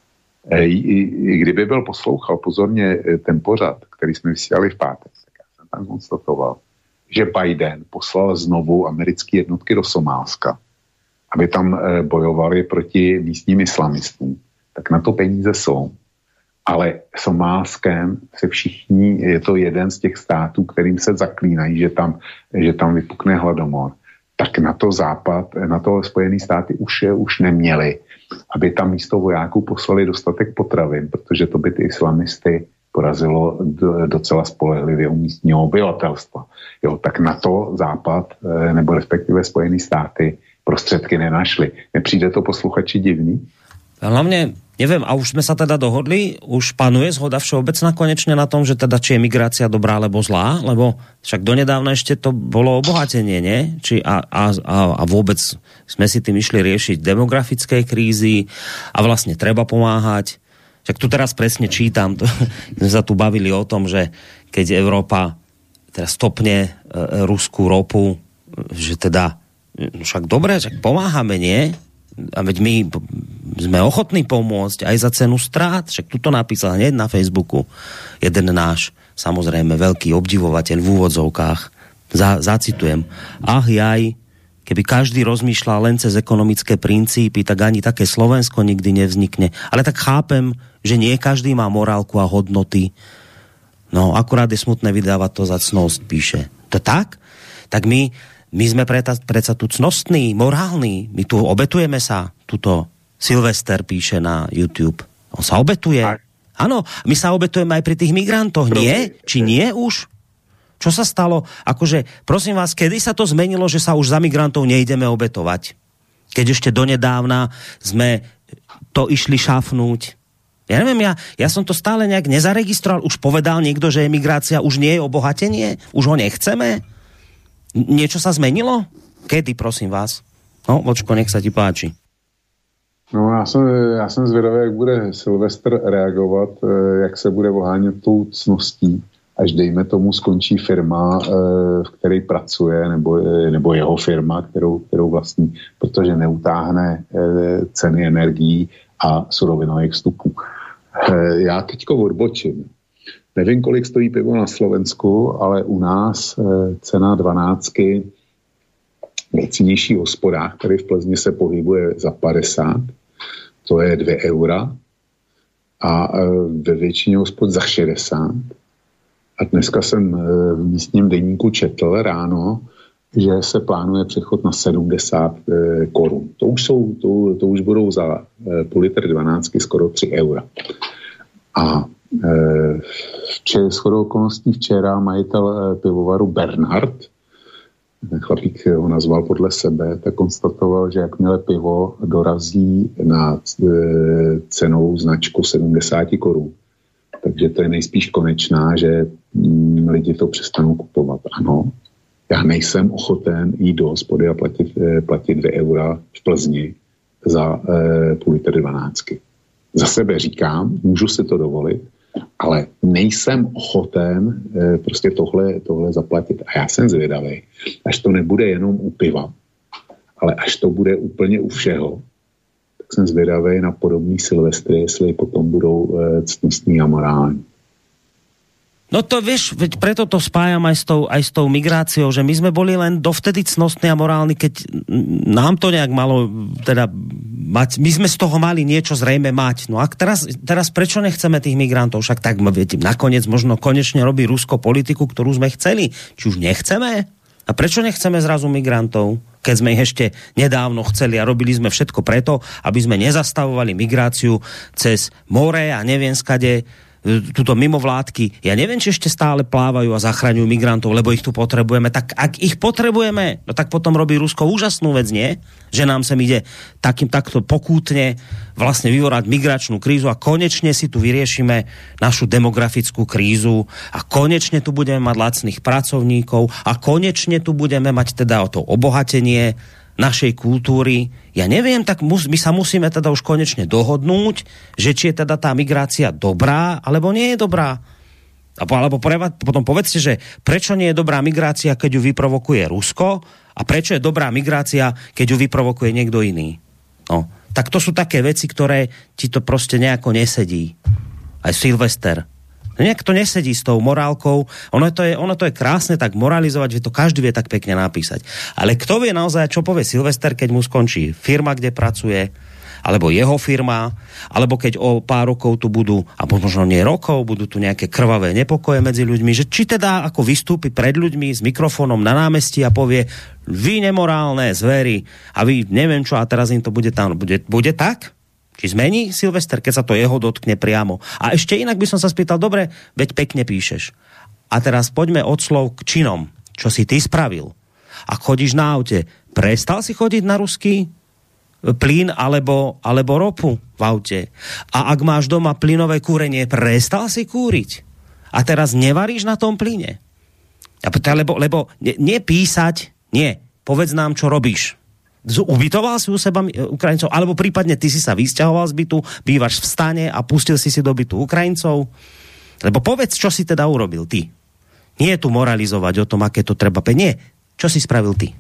C: Kdyby byl poslouchal pozorně ten pořad, který jsme vysílali v pátek, tak já jsem tam konstatoval, že Biden poslal znovu americké jednotky do Somálska, aby tam bojovali proti místním islamistům. Tak na to peníze jsou. Ale Somálskem se všichni, je to jeden z těch států, kterým se zaklínají, že tam, že tam vypukne hladomor. Tak na to Západ, na to Spojené státy už, už neměli, aby tam místo vojáků poslali dostatek potravin, protože to by ty islamisty porazilo docela spolehlivě u místního obyvatelstva. Jo, tak na to Západ, nebo respektive Spojené státy prostředky nenašli. Nepřijde to posluchači divný?
B: Hlavne, neviem, a už sme sa teda dohodli, už panuje zhoda všeobecná konečne na tom, že teda či je migrácia dobrá alebo zlá, lebo však donedávna ešte to bolo obohatenie, nie? Či a, a, a vôbec sme si tým išli riešiť demografické krízy a vlastne treba pomáhať. Však tu teraz presne čítam, to, sme sa tu bavili o tom, že keď Európa teraz stopne e, ruskú ropu, že teda však dobre, však pomáhame, nie? A veď my sme ochotní pomôcť aj za cenu strát. Však tu to napísal hneď na Facebooku jeden náš, samozrejme, veľký obdivovateľ v úvodzovkách. Za, zacitujem. Ach jaj, keby každý rozmýšľal len cez ekonomické princípy, tak ani také Slovensko nikdy nevznikne. Ale tak chápem, že nie každý má morálku a hodnoty. No, akurát je smutné vydávať to za cnosť, píše. To tak? Tak my My sme predsa, predsa tu cnostní, morálni. My tu obetujeme sa. Tuto Silvester píše na YouTube. On sa obetuje. Áno, my sa obetujeme aj pri tých migrantoch. Nie? Či nie už? Čo sa stalo? Akože, prosím vás, kedy sa to zmenilo, že sa už za migrantov nejdeme obetovať? Keď ešte donedávna sme to išli šafnúť. Ja neviem, ja, ja som to stále nejak nezaregistroval. Už povedal niekto, že emigrácia už nie je obohatenie? Už ho nechceme? Niečo sa zmenilo? Kedy, prosím vás? No, Vočko, nech sa ti páči.
C: No, já jsem, já jsem zvědavý, jak bude Silvestr reagovat, jak se bude ohánět tou cností, až dejme tomu skončí firma, v které pracuje, nebo, nebo jeho firma, kterou, kterou vlastní, protože neutáhne ceny energií a surovinových vstupů. Já teďko odbočím. Nevím, kolik stojí pivo na Slovensku, ale u nás e, cena dvanáctky v nejcennějších hospodách, který v Plzni se pohybuje za padesát, to je dvě eura, a e, ve většině hospod za šedesát. A dneska jsem e, v místním deníku četl ráno, že se plánuje přechod na sedmdesát e, korun. To už, jsou, to, to už budou za e, půl litr dvanáctky skoro tři eura. A Včera, shodou okolností včera majitel pivovaru Bernhard, ten chlapík ho nazval podle sebe, tak konstatoval, že jakmile pivo dorazí na cenou značku sedmdesát korun, takže to je nejspíš konečná, že lidi to přestanou kupovat. Ano, já nejsem ochoten jít do hospody a platit, platit dvě eura v Plzni za půl litr dvanáctky. za sebe říkám, můžu si to dovolit, ale nejsem ochoten e, prostě tohle, tohle zaplatit. A já jsem zvědavý, až to nebude jenom u piva, ale až to bude úplně u všeho, tak jsem zvědavý na podobný Silvestry, jestli potom budou e, ctnostní a morální.
B: No to vieš, veď preto to spájam aj s tou, aj s tou migráciou, že my sme boli len dovtedy cnostní a morálni, keď nám to nejak malo teda mať, my sme z toho mali niečo zrejme mať. No a teraz, teraz prečo nechceme tých migrantov? Však tak, viete, nakoniec možno konečne robí Rusko politiku, ktorú sme chceli. Či už nechceme? A prečo nechceme zrazu migrantov? Keď sme ich ešte nedávno chceli a robili sme všetko preto, aby sme nezastavovali migráciu cez more a neviem skade, túto mimovládky, ja neviem, či ešte stále plávajú a zachraňujú migrantov, lebo ich tu potrebujeme, tak ak ich potrebujeme, no tak potom robí Rusko úžasnú vec, nie? Že nám sem ide takým takto pokútne vlastne vyvorať migračnú krízu a konečne si tu vyriešime našu demografickú krízu a konečne tu budeme mať lacných pracovníkov a konečne tu budeme mať teda o to obohatenie našej kultúry. Ja neviem, tak mus, my sa musíme teda už konečne dohodnúť, že či je teda tá migrácia dobrá, alebo nie je dobrá. Alebo preva, potom povedzte, že prečo nie je dobrá migrácia, keď ju vyprovokuje Rusko a prečo je dobrá migrácia, keď ju vyprovokuje niekto iný. No, tak to sú také veci, ktoré ti to proste nejako nesedí. Aj Silvester. Nejak to nesedí s tou morálkou. Ono to je, ono to je krásne tak moralizovať, že to každý vie tak pekne napísať. Ale kto vie naozaj, čo povie Silvester, keď mu skončí firma, kde pracuje, alebo jeho firma, alebo keď o pár rokov tu budú, a možno nie rokov, budú tu nejaké krvavé nepokoje medzi ľuďmi, že či teda ako vystúpi pred ľuďmi s mikrofónom na námestí a povie, vy nemorálne zvery a vy neviem čo, a teraz im to bude tam. Bude, bude tak? Či zmení Silvester, keď sa to jeho dotkne priamo. A ešte inak by som sa spýtal, dobre, veď pekne píšeš. A teraz poďme od slov k činom. Čo si ty spravil? Ak chodíš na aute, prestal si chodiť na ruský plyn alebo, alebo ropu v aute? A ak máš doma plynové kúrenie, prestal si kúriť? A teraz nevaríš na tom plyne? Lebo, lebo nepísať, nie, povedz nám, čo robíš. Ubytoval si u seba Ukrajincov, alebo prípadne ty si sa vysťahoval z bytu, bývaš v stane a pustil si si do bytu Ukrajincov? Lebo povedz, čo si teda urobil ty. Nie je tu moralizovať o tom, aké to treba. Nie, čo si spravil ty.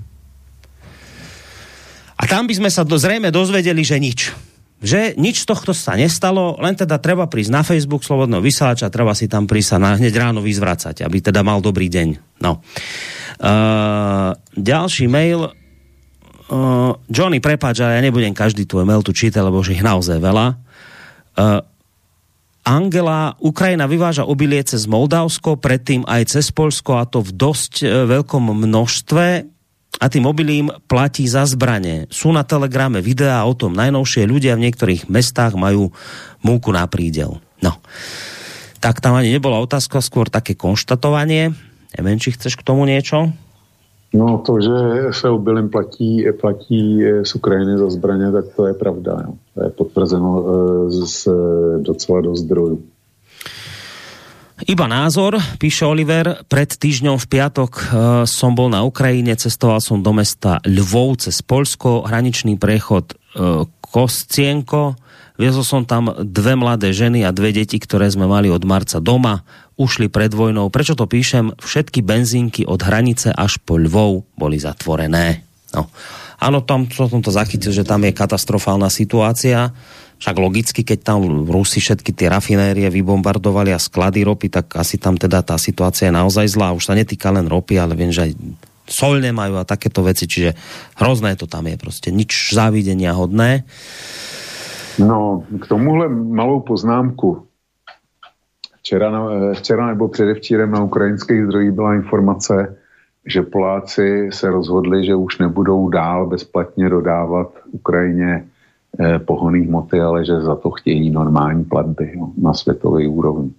B: A tam by sme sa do, zrejme dozvedeli, že nič. Že nič z tohto sa nestalo, len teda treba prísť na Facebook Slobodného vysielača, treba si tam prísť a hneď ráno vyzvracať, aby teda mal dobrý deň. No. Uh, ďalší mail. Uh, Johnny, prepáč, ale ja nebudem každý tvoj mail tu čítať, lebo už ich naozaj veľa. Uh, Angela, Ukrajina vyváža obilie cez Moldavsko, predtým aj cez Poľsko, a to v dosť uh, veľkom množstve, a tým obilím platí za zbrane. Sú na Telegrame videá o tom najnovšie, ľudia v niektorých mestách majú múku na prídel. No. Tak tam ani nebola otázka, skôr také konštatovanie. Neviem, či chceš k tomu niečo?
C: No to, že se obilím platí, platí z Ukrajiny za zbraně, tak to je pravda. Jo. To je potvrzeno z docela do zdrojů.
B: Iba názor, píše Oliver, pred týždňom v piatok e, som bol na Ukrajine, cestoval som do mesta Lvov cez Poľsko, hraničný prechod e, Koscienko, viezol som tam dve mladé ženy a dve deti, ktoré sme mali od marca doma, ušli pred vojnou. Prečo to píšem? Všetky benzínky od hranice až po Lvov boli zatvorené. No. Áno, tam som to zachytil, že tam je katastrofálna situácia. Však logicky, keď tam Rusi všetky tie rafinérie vybombardovali a sklady ropy, tak asi tam teda tá situácia je naozaj zlá. Už sa netýka len ropy, ale viem, že aj soľ nemajú a takéto veci, čiže hrozné to tam je proste. Nič závidenia hodné.
C: No, k tomuhle malou poznámku. Včera, včera nebo předevčírem na ukrajinských zdrojích byla informace, že Poláci se rozhodli, že už nebudou dál bezplatně dodávat Ukrajině eh, pohonný hmoty, ale že za to chtějí normální platby, jo, na světové úrovni.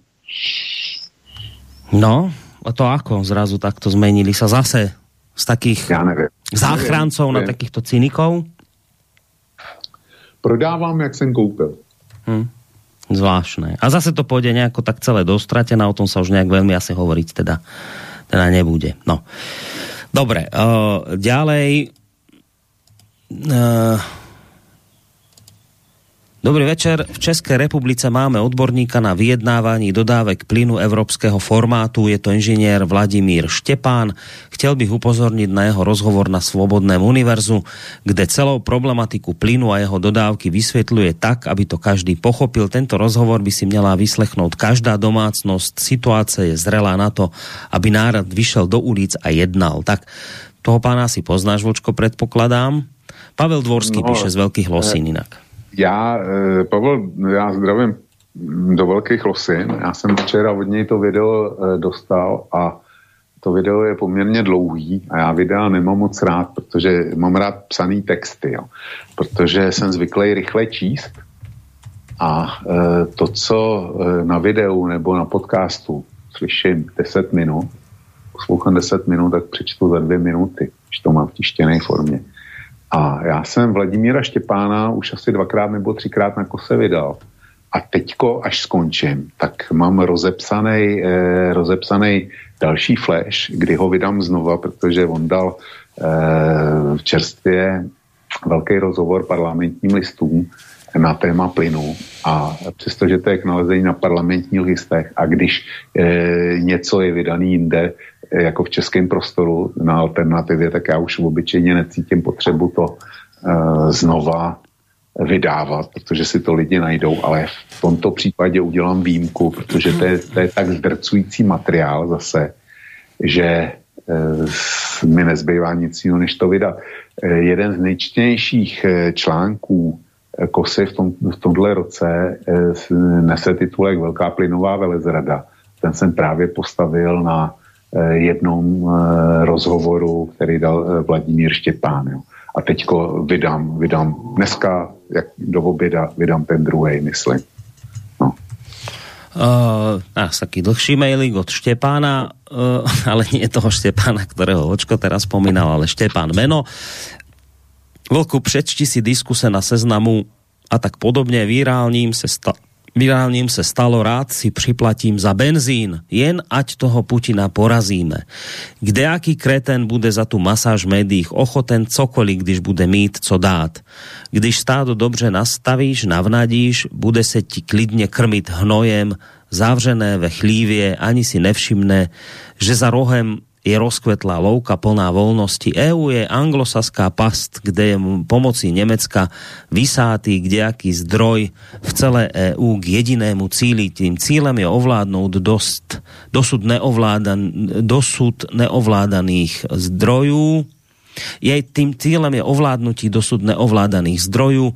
B: No, a to ako zrazu takto zmenili sa zase z takých
C: ja
B: záchrancov neviem, na neviem. takýchto cynikov?
C: Prodávám, jak jsem koupil.
B: Hm. Zvláštne. A zase to pôjde nejako tak celé dostratené, o tom sa už nejak veľmi asi hovoriť teda, teda nebude. No. Dobre, uh, ďalej uh, Dobrý večer. V Českej republice máme odborníka na vyjednávání dodávek plynu európskeho formátu. Je to inžinier Vladimír Štepán. Chtěl bych upozornit na jeho rozhovor na Svobodném univerzu, kde celou problematiku plynu a jeho dodávky vysvětluje tak, aby to každý pochopil. Tento rozhovor by si měla vyslechnout každá domácnost. Situace je zrelá na to, aby národ vyšel do ulic a jednal. Tak toho pána si poznáš, Vlčko, predpokladám. Pavel Dvorský no, píše z Veľkých Losín inak.
C: Já, Pavel, já zdravím do Velkých Losin. Já jsem včera od něj to video dostal a to video je poměrně dlouhý a já videa nemám moc rád, protože mám rád psaný texty, jo. Protože jsem zvyklý rychle číst a to, co na videu nebo na podcastu slyším deset minut, poslouchám deset minut, tak přečtu za dvě minuty, když to mám v tištěné formě. A já jsem Vladimíra Štěpána už asi dvakrát nebo třikrát na kose vydal. A teďko, až skončím, tak mám rozepsaný, eh, rozepsaný další flash, kdy ho vydám znova, protože on dal eh, v čerstvě velký rozhovor parlamentním listům na téma plynu. A přestože to je k nalezení na parlamentních listech a když eh, něco je vydaný jinde, jako v českém prostoru na alternativě, tak já už obyčejně necítím potřebu to uh, znova vydávat, protože si to lidi najdou, ale v tomto případě udělám výjimku, protože to je, to je tak zdrcující materiál zase, že uh, mi nezbývá nic jiného, než to vydat. Uh, jeden z nejčtenějších uh, článků uh, Kosy v, tom, v tomhle roce uh, nese titulek Velká plynová velezrada. Ten jsem právě postavil na jednom rozhovoru, který dal Vladimír Štěpán. Jo. A teďko vydám, vydám dneska, jak do oběda, vydám ten druhej, myslím. No.
B: Uh, nás taký dlhší mailing od Štepána, uh, ale nie toho Štepána, ktorého Očko teraz spomínal, ale Štepán meno. Vlku, přečti si diskuse na Seznamu a tak podobne. Virálním se sta- Virálním se stalo, rád si připlatím za benzín, jen ať toho Putina porazíme. Kdejaký kreten bude za tu masáž v médiích ochoten cokoliv, když bude mít co dát. Když stádo dobře nastavíš, navnadíš, bude se ti klidně krmit hnojem, zavřené ve chlívě, ani si nevšimne, že za rohem je rozkvetlá louka plná voľnosti. é ú je anglosaská past, kde je pomocí Nemecka vysátý kdejaký zdroj v celé é ú k jedinému cíli. Tým cílem je ovládnout dost, dosud, neovládan, dosud neovládaných zdrojů. Jej tým cílem je ovládnutí dosud neovládaných zdrojů.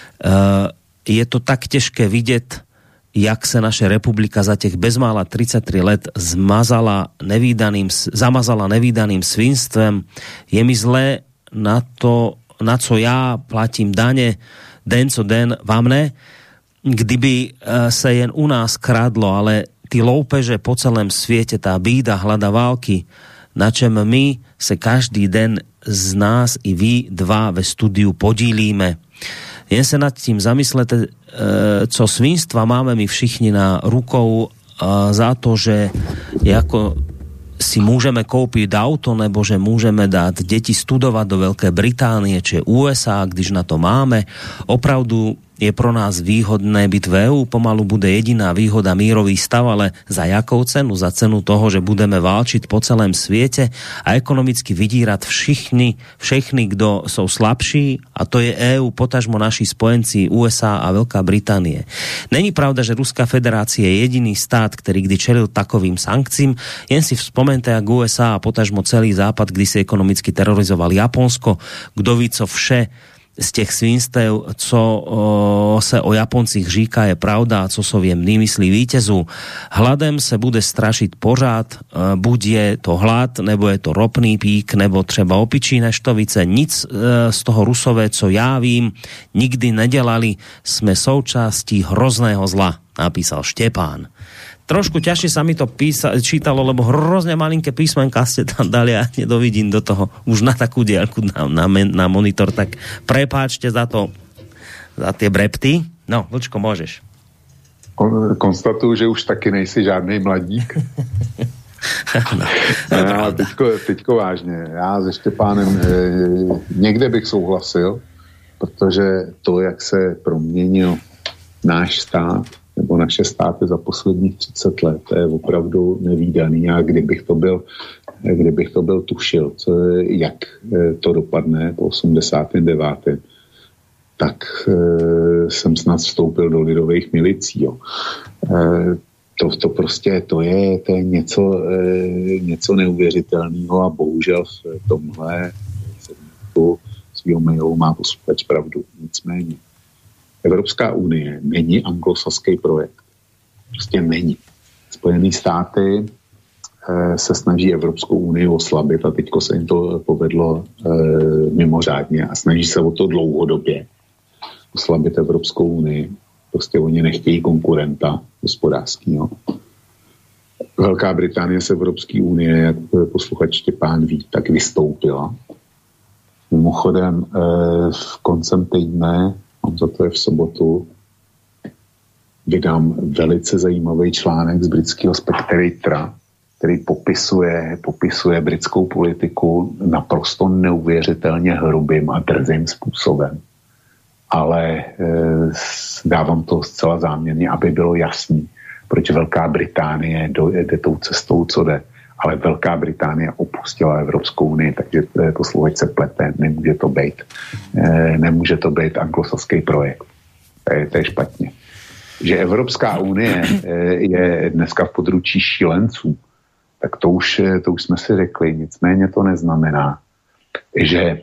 B: Je to tak těžké vidět, jak se naše republika za těch bezmála tridsaťtri let zmazala nevídaným, zamazala nevídaným svinstvem. Je mi zlé na to, na co já platím dane, den co den, vám ne? Kdyby se jen u nás kradlo, ale ty loupeže po celém světě, tá bída, hlada, války, na čem my se každý den z nás i vy dva ve studiu podílíme. Jen se nad tím zamyslete, co svinstva máme my všichni na rukou za to, že jako si můžeme koupit auto, nebo že můžeme dát děti studovat do Veľké Británie či ú es á, když na to máme. Opravdu je pro nás výhodné byť v é ú, pomalu bude jediná výhoda mírový stav, ale za jakou cenu? Za cenu toho, že budeme válčiť po celém sviete a ekonomicky vydírať všichni, všechny, kdo sú slabší, a to je é ú, potažmo naši spojenci ú es á a Veľká Británie. Není pravda, že Ruská federácia je jediný stát, ktorý kdy čelil takovým sankciím. Jen si vzpomeňte, jak ú es á a potažmo celý západ, kdy si ekonomicky terorizoval Japonsko, kdo ví, co vše z těch svinstev, co o, se o Japoncích říká, je pravda a co so viem vymyslí vítězů. Hladem se bude strašit pořád, e, buď je to hlad, nebo je to ropný pík, nebo třeba opičí neštovice. Nic e, z toho Rusové, co já vím, nikdy nedělali. Jsme součástí hrozného zla, napísal Štepán. Trošku ťažšie sa mi to písa, čítalo, lebo hrozne malinké písmenka ste tam dali a nedovidím do toho už na takú diaľku na, na, na monitor, tak prepáčte za to, za tie brepty. No, Vlčko, môžeš.
C: Konstatuju, že už taky nejsi žádnej mladík. no, já, teďko, teďko vážně. Já se Štěpánem e, někde bych souhlasil, protože to, jak se proměnil náš stát, nebo naše státy za posledních třicet let, to je opravdu nevídaný. A kdybych to byl, kdybych to byl tušil, co, jak to dopadne po osmdesátém devátém tak e, jsem snad vstoupil do lidových milicí. Jo. E, to, to prostě to je, to je něco, e, něco neuvěřitelného a bohužel v tomhle segmentu svýho mailu má posluchač pravdu. Nicméně Evropská unie není anglosaský projekt. Prostě není. Spojené státy e, se snaží Evropskou unii oslabit a teďko se jim to povedlo e, mimořádně a snaží se o to dlouhodobě oslabit Evropskou unii. Prostě oni nechtějí konkurenta hospodářského. Velká Británie z Evropské unie, jak posluchač Štěpán ví, tak vystoupila. Mimochodem e, v koncem týdne, mám za to je v sobotu, vydám velice zajímavý článek z britského Spectatoru, který popisuje, popisuje britskou politiku naprosto neuvěřitelně hrubým a drzým způsobem. Ale e, dávám to zcela záměrně, aby bylo jasný, proč Velká Británie jde tou cestou, co jde. Ale Velká Británie opustila Evropskou unii, takže posluchač se plete, nemůže to být. E, nemůže to být anglosaský projekt. To je, to je špatně. Že Evropská unie e, je dneska v područí šílenců, tak to už, to už jsme si řekli. Nicméně to neznamená, že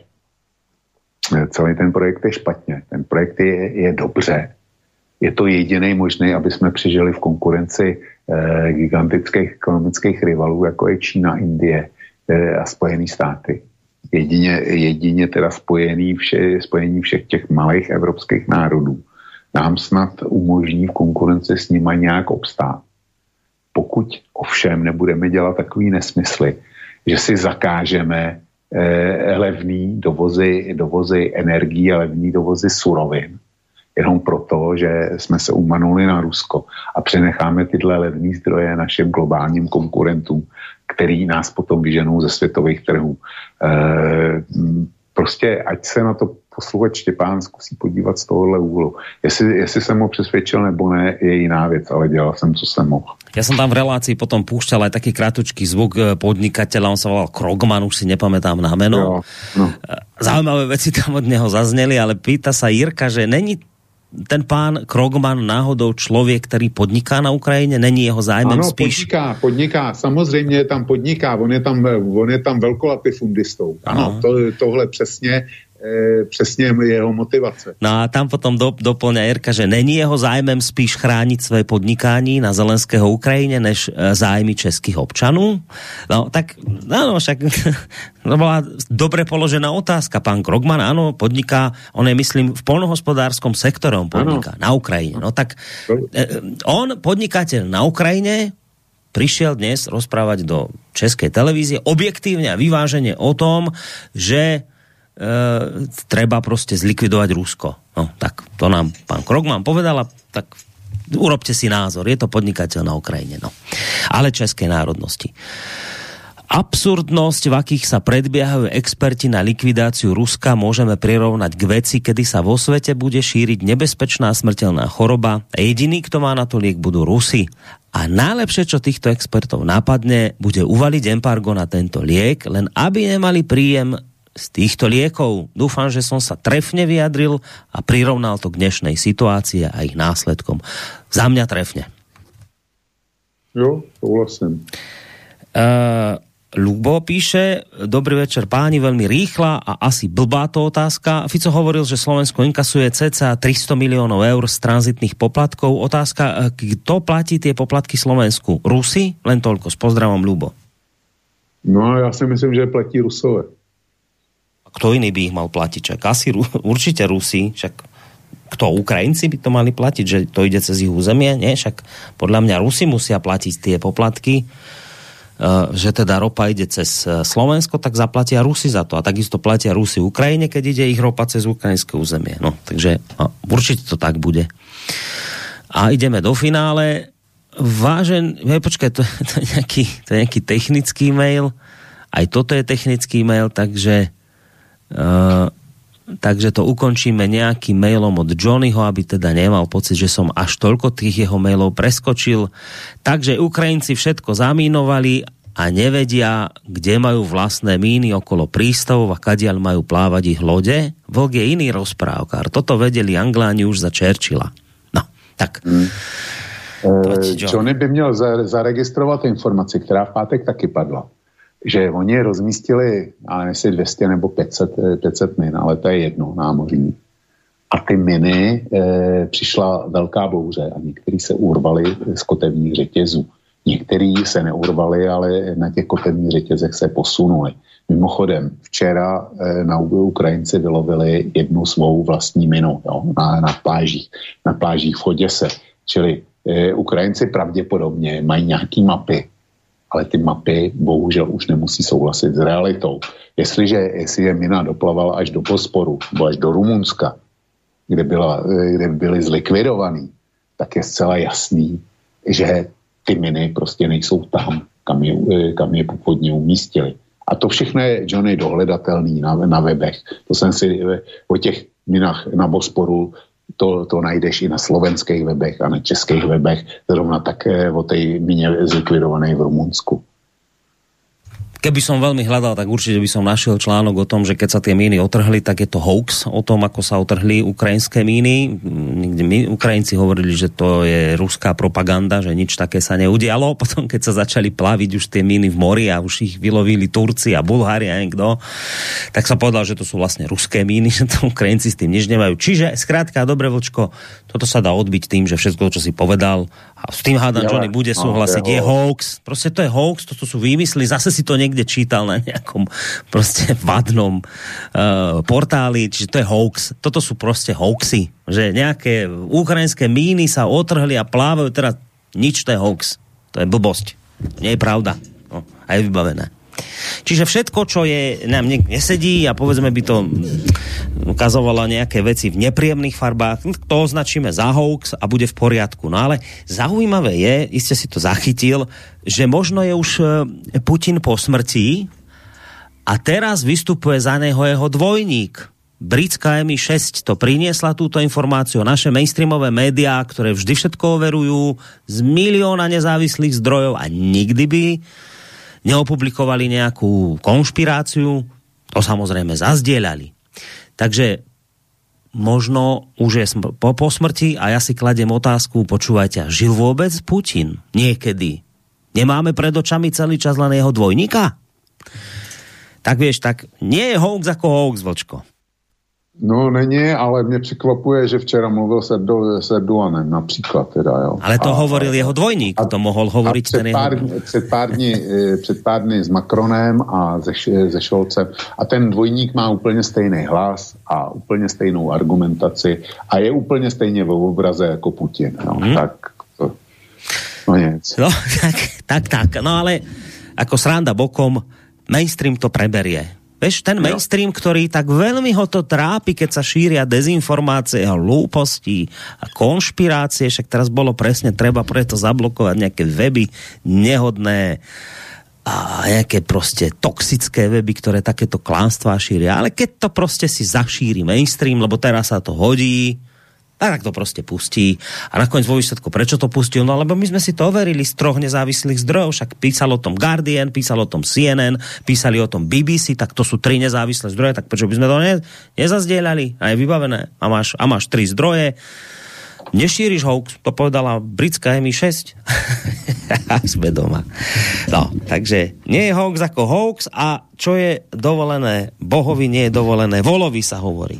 C: celý ten projekt je špatně. Ten projekt je, je dobře. Je to jediný možný, aby jsme přežili v konkurenci eh, gigantických ekonomických rivalů, jako je Čína, Indie eh, a Spojené státy. Jedině, jedině teda spojený vše, spojení všech těch malých evropských národů nám snad umožní v konkurenci s nimi nějak obstát. Pokud ovšem nebudeme dělat takový nesmysly, že si zakážeme eh, levný dovozy, dovozy energií a levný dovozy surovin, jenom proto, že jsme se umanuli na Rusko a přenecháme tyhle levné zdroje našim globálním konkurentům, který nás potom vyženou ze světových trhů. E, prostě ať se na to posluchač Štěpán zkusí podívat z tohohle úhlu. Jestli, jestli jsem ho přesvědčil nebo ne, je jiná věc, ale dělal jsem, co jsem mohl.
B: Ja som tam v relácii potom púšťal aj taký krátučký zvuk podnikateľa, on sa volal Krogman, už si nepamätám na meno. Jo, no. Zaujímavé veci tam od neho zazneli, ale pýta sa Jirka, že není ten pán Krogman náhodou člověk, který podniká na Ukrajině? Není jeho zájmem
C: ano,
B: spíš?
C: podniká, podniká. Samozřejmě je tam podniká. On je tam, on je tam velkolatifundistou. Ano, to, tohle přesně přesně jeho motivace.
B: No a tam potom do, doplňa Jirka, že není jeho zájmem spíš chrániť svoje podnikání na Zelenského Ukrajine, než zájmy českých občanů. No tak, áno, však to bola dobre položená otázka. Pán Krogman, áno, podniká, on je, myslím, v poľnohospodárskom sektore on podniká, ano. Na Ukrajine. No tak on, podnikateľ na Ukrajine, prišiel dnes rozprávať do českej televízie objektívne a vyvážene o tom, že Uh, treba proste zlikvidovať Rusko. No, tak to nám pán Krogman povedal, tak urobte si názor. Je to podnikateľ na Ukrajine. No. Ale českej národnosti. Absurdnosť, v akých sa predbiehajú experti na likvidáciu Ruska, môžeme prirovnať k veci, kedy sa vo svete bude šíriť nebezpečná smrteľná choroba a jediný, kto má na to liek, budú Rusi. A najlepšie, čo týchto expertov napadne, bude uvaliť embargo na tento liek, len aby nemali príjem z týchto liekov. Dúfam, že som sa trefne vyjadril a prirovnal to k dnešnej situácii a ich následkom. Za mňa trefne.
C: Jo, súhlasím.
B: Uh, Lubo píše, dobrý večer páni, veľmi rýchla a asi blbá to otázka. Fico hovoril, že Slovensko inkasuje cca tristo miliónov eur z tranzitných poplatkov. Otázka, kto platí tie poplatky Slovensku? Rusi? Len toľko, s pozdravom Lubo.
C: No ja si myslím, že platí Rusové.
B: Kto iný by ich mal platiť? Čak asi určite Rusi, však kto, Ukrajinci by to mali platiť, že to ide cez ich územie? Nie, však podľa mňa Rusi musia platiť tie poplatky, že teda ropa ide cez Slovensko, tak zaplatia Rusi za to. A takisto platia Rusi Ukrajine, keď ide ich ropa cez ukrajinské územie. No, takže no, určite to tak bude. A ideme do finále. Vážen, hej, počkaj, to, to, je nejaký, to je nejaký technický mail. Aj toto je technický mail, takže Uh, takže to ukončíme nejakým mailom od Johnnyho, aby teda nemal pocit, že som až toľko tých jeho mailov preskočil. Takže Ukrajinci všetko zamínovali a nevedia, kde majú vlastné míny okolo prístavov a kadiaľ majú plávať ich lode. Vlk je iný rozprávkár. Toto vedeli Angláni už za Churchilla. No, tak. Hmm.
C: Johnny by měl zaregistrovat informaci, která v pátek taky padla. Že oni rozmístili, ale jestli dvě stě nebo pět set min, ale to je jedno, námořní. A ty miny e, přišla velká bouře a některý se urvali z kotevních řetězů. Některý se neurvali, ale na těch kotevních řetězech se posunuli. Mimochodem, včera e, na Ukrajinci vylovili jednu svou vlastní minu, jo, na, na plážích, na plážích v Oděse. Čili e, Ukrajinci pravděpodobně mají nějaký mapy, ale ty mapy bohužel už nemusí souhlasit s realitou. Jestliže, jestliže mina doplavala až do Bosporu, nebo až do Rumunska, kde, byla, kde byly zlikvidovaný, tak je zcela jasný, že ty miny prostě nejsou tam, kam je, kam je původně umístili. A to všechno je, Johnny, dohledatelný na, na webech. To jsem si o těch minách na Bosporu To, to najdeš i na slovenských webech a na českých webech, zrovna tak o tej mine zlikvidovanej v Rumunsku.
B: Keby som veľmi hľadal, tak určite by som našiel článok o tom, že keď sa tie míny otrhli, tak je to hoax o tom, ako sa otrhli ukrajinské míny. Niekde my, Ukrajinci hovorili, že to je ruská propaganda, že nič také sa neudialo. Potom, keď sa začali plaviť už tie míny v mori a už ich vylovili Turci a Bulhári a niekto, tak sa povedal, že to sú vlastne ruské míny, že to Ukrajinci s tým nič nemajú. Čiže, skrátka, dobre, Vlčko, toto sa dá odbiť tým, že všetko, čo si povedal, a s tým hádam, Johnny bude súhlasiť, je hoax. Proste to je hoax, toto sú výmysly, zase si to niekde čítal na nejakom proste vadnom uh, portáli, čiže to je hoax. Toto sú proste hoaxy, že nejaké ukrajinské míny sa otrhli a plávajú, teraz nič, to je hoax. To je blbosť. Nie je pravda. No, a je vybavené. Čiže všetko, čo je, nám nesedí a povedzme by to ukazovalo nejaké veci v nepríjemných farbách, to označíme za hoax a bude v poriadku. No ale zaujímavé je, iste si to zachytil, že možno je už Putin po smrti a teraz vystupuje za neho jeho dvojník. Britská em í šesť to priniesla túto informáciu. Naše mainstreamové médiá, ktoré vždy všetko overujú z milióna nezávislých zdrojov a nikdy by neopublikovali nejakú konšpiráciu, to samozrejme zazdieľali. Takže možno už je po, po smrti a ja si kladiem otázku, počúvajte, žil vôbec Putin niekedy? Nemáme pred očami celý čas len jeho dvojníka? Tak vieš, tak nie je hoax ako hoax, Vlčko.
C: No není, ale mě překvapuje, že včera mluvil se Erdoganem například teda, jo.
B: Ale to a, hovoril jeho dvojník, a, to mohl hovoriť ten jeho...
C: Pár, před, pár dní, před pár dny s Macronem a se, se Scholzem a ten dvojník má úplně stejný hlas a úplně stejnou argumentaci a je úplně stejně v obraze jako Putin, jo. Hmm. Tak to, no nic.
B: No, tak, tak, tak, no ale ako sranda bokom, mainstream to preberie. Vieš, ten mainstream, ktorý tak veľmi ho to trápi, keď sa šíria dezinformácie a hlúposti a konšpirácie, však teraz bolo presne treba preto zablokovať nejaké weby nehodné a nejaké proste toxické weby, ktoré takéto klamstvá šíria. Ale keď to proste si zašíri mainstream, lebo teraz sa to hodí, tak to proste pustí. A nakoniec vo výsledku, prečo to pustil? No lebo my sme si to overili z troch nezávislých zdrojov, však písal o tom Guardian, písal o tom C N N, písali o tom B B C, tak to sú tri nezávislé zdroje, tak prečo by sme to ne, nezazdieľali? A je vybavené. A máš, a máš tri zdroje. Nešíriš hoax, to povedala britská em í šesť. A sme doma. No, takže nie je hoax ako hoax a čo je dovolené Bohovi, nie je dovolené volovi, sa hovorí.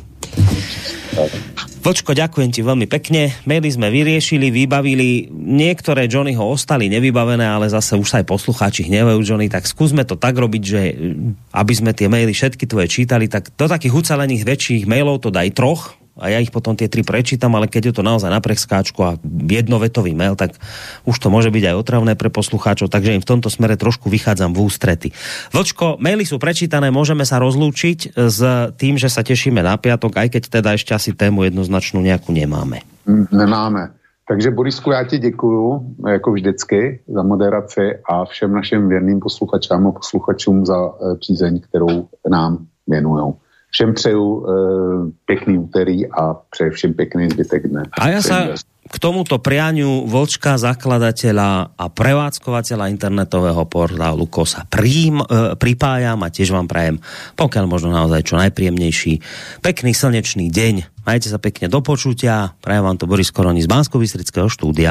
B: Vlčko, ďakujem ti veľmi pekne. Maily sme vyriešili, vybavili. Niektoré Johnnyho ostali nevybavené, ale zase už sa aj poslucháči hnevajú, Johnny, tak skúsme to tak robiť, že aby sme tie maily všetky tvoje čítali, tak do takých ucelených väčších mailov to daj troch a ja ich potom tie tri prečítam, ale keď je to naozaj na preskáčku a jednovetový mail, tak už to môže byť aj otravné pre poslucháčov, takže im v tomto smere trošku vychádzam v ústrety. Vlčko, maily sú prečítané, môžeme sa rozlúčiť s tým, že sa tešíme na piatok, aj keď teda ešte asi tému jednoznačnú nejakú nemáme.
C: Nemáme. Takže Borisku, já ti děkuju, jako vždycky, za moderaci a všem našim věrným posluchačům a posluchačům za přízeň, kterou nám věnujou. všem přeju e, pěkný úterý a přeju všem pěkný zbytek dne.
B: A ja sa k tomuto prianiu Vlčka, zakladateľa a prevádzkovateľa internetového portálu Kosa prím, e, pripájam a tiež vám prajem, pokiaľ možno naozaj čo najpríjemnejší, pekný slnečný deň. Majte sa pekne, do počutia. Prajem vám to Boris Koroni z Banskobystrického štúdia.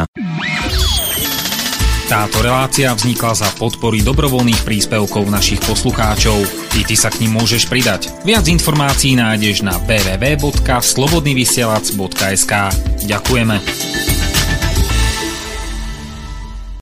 D: Táto relácia vznikla za podpory dobrovoľných príspevkov našich poslucháčov. I ty sa k nim môžeš pridať. Viac informácií nájdeš na w w w bodka slobodnyvysielac bodka es ka. Ďakujeme.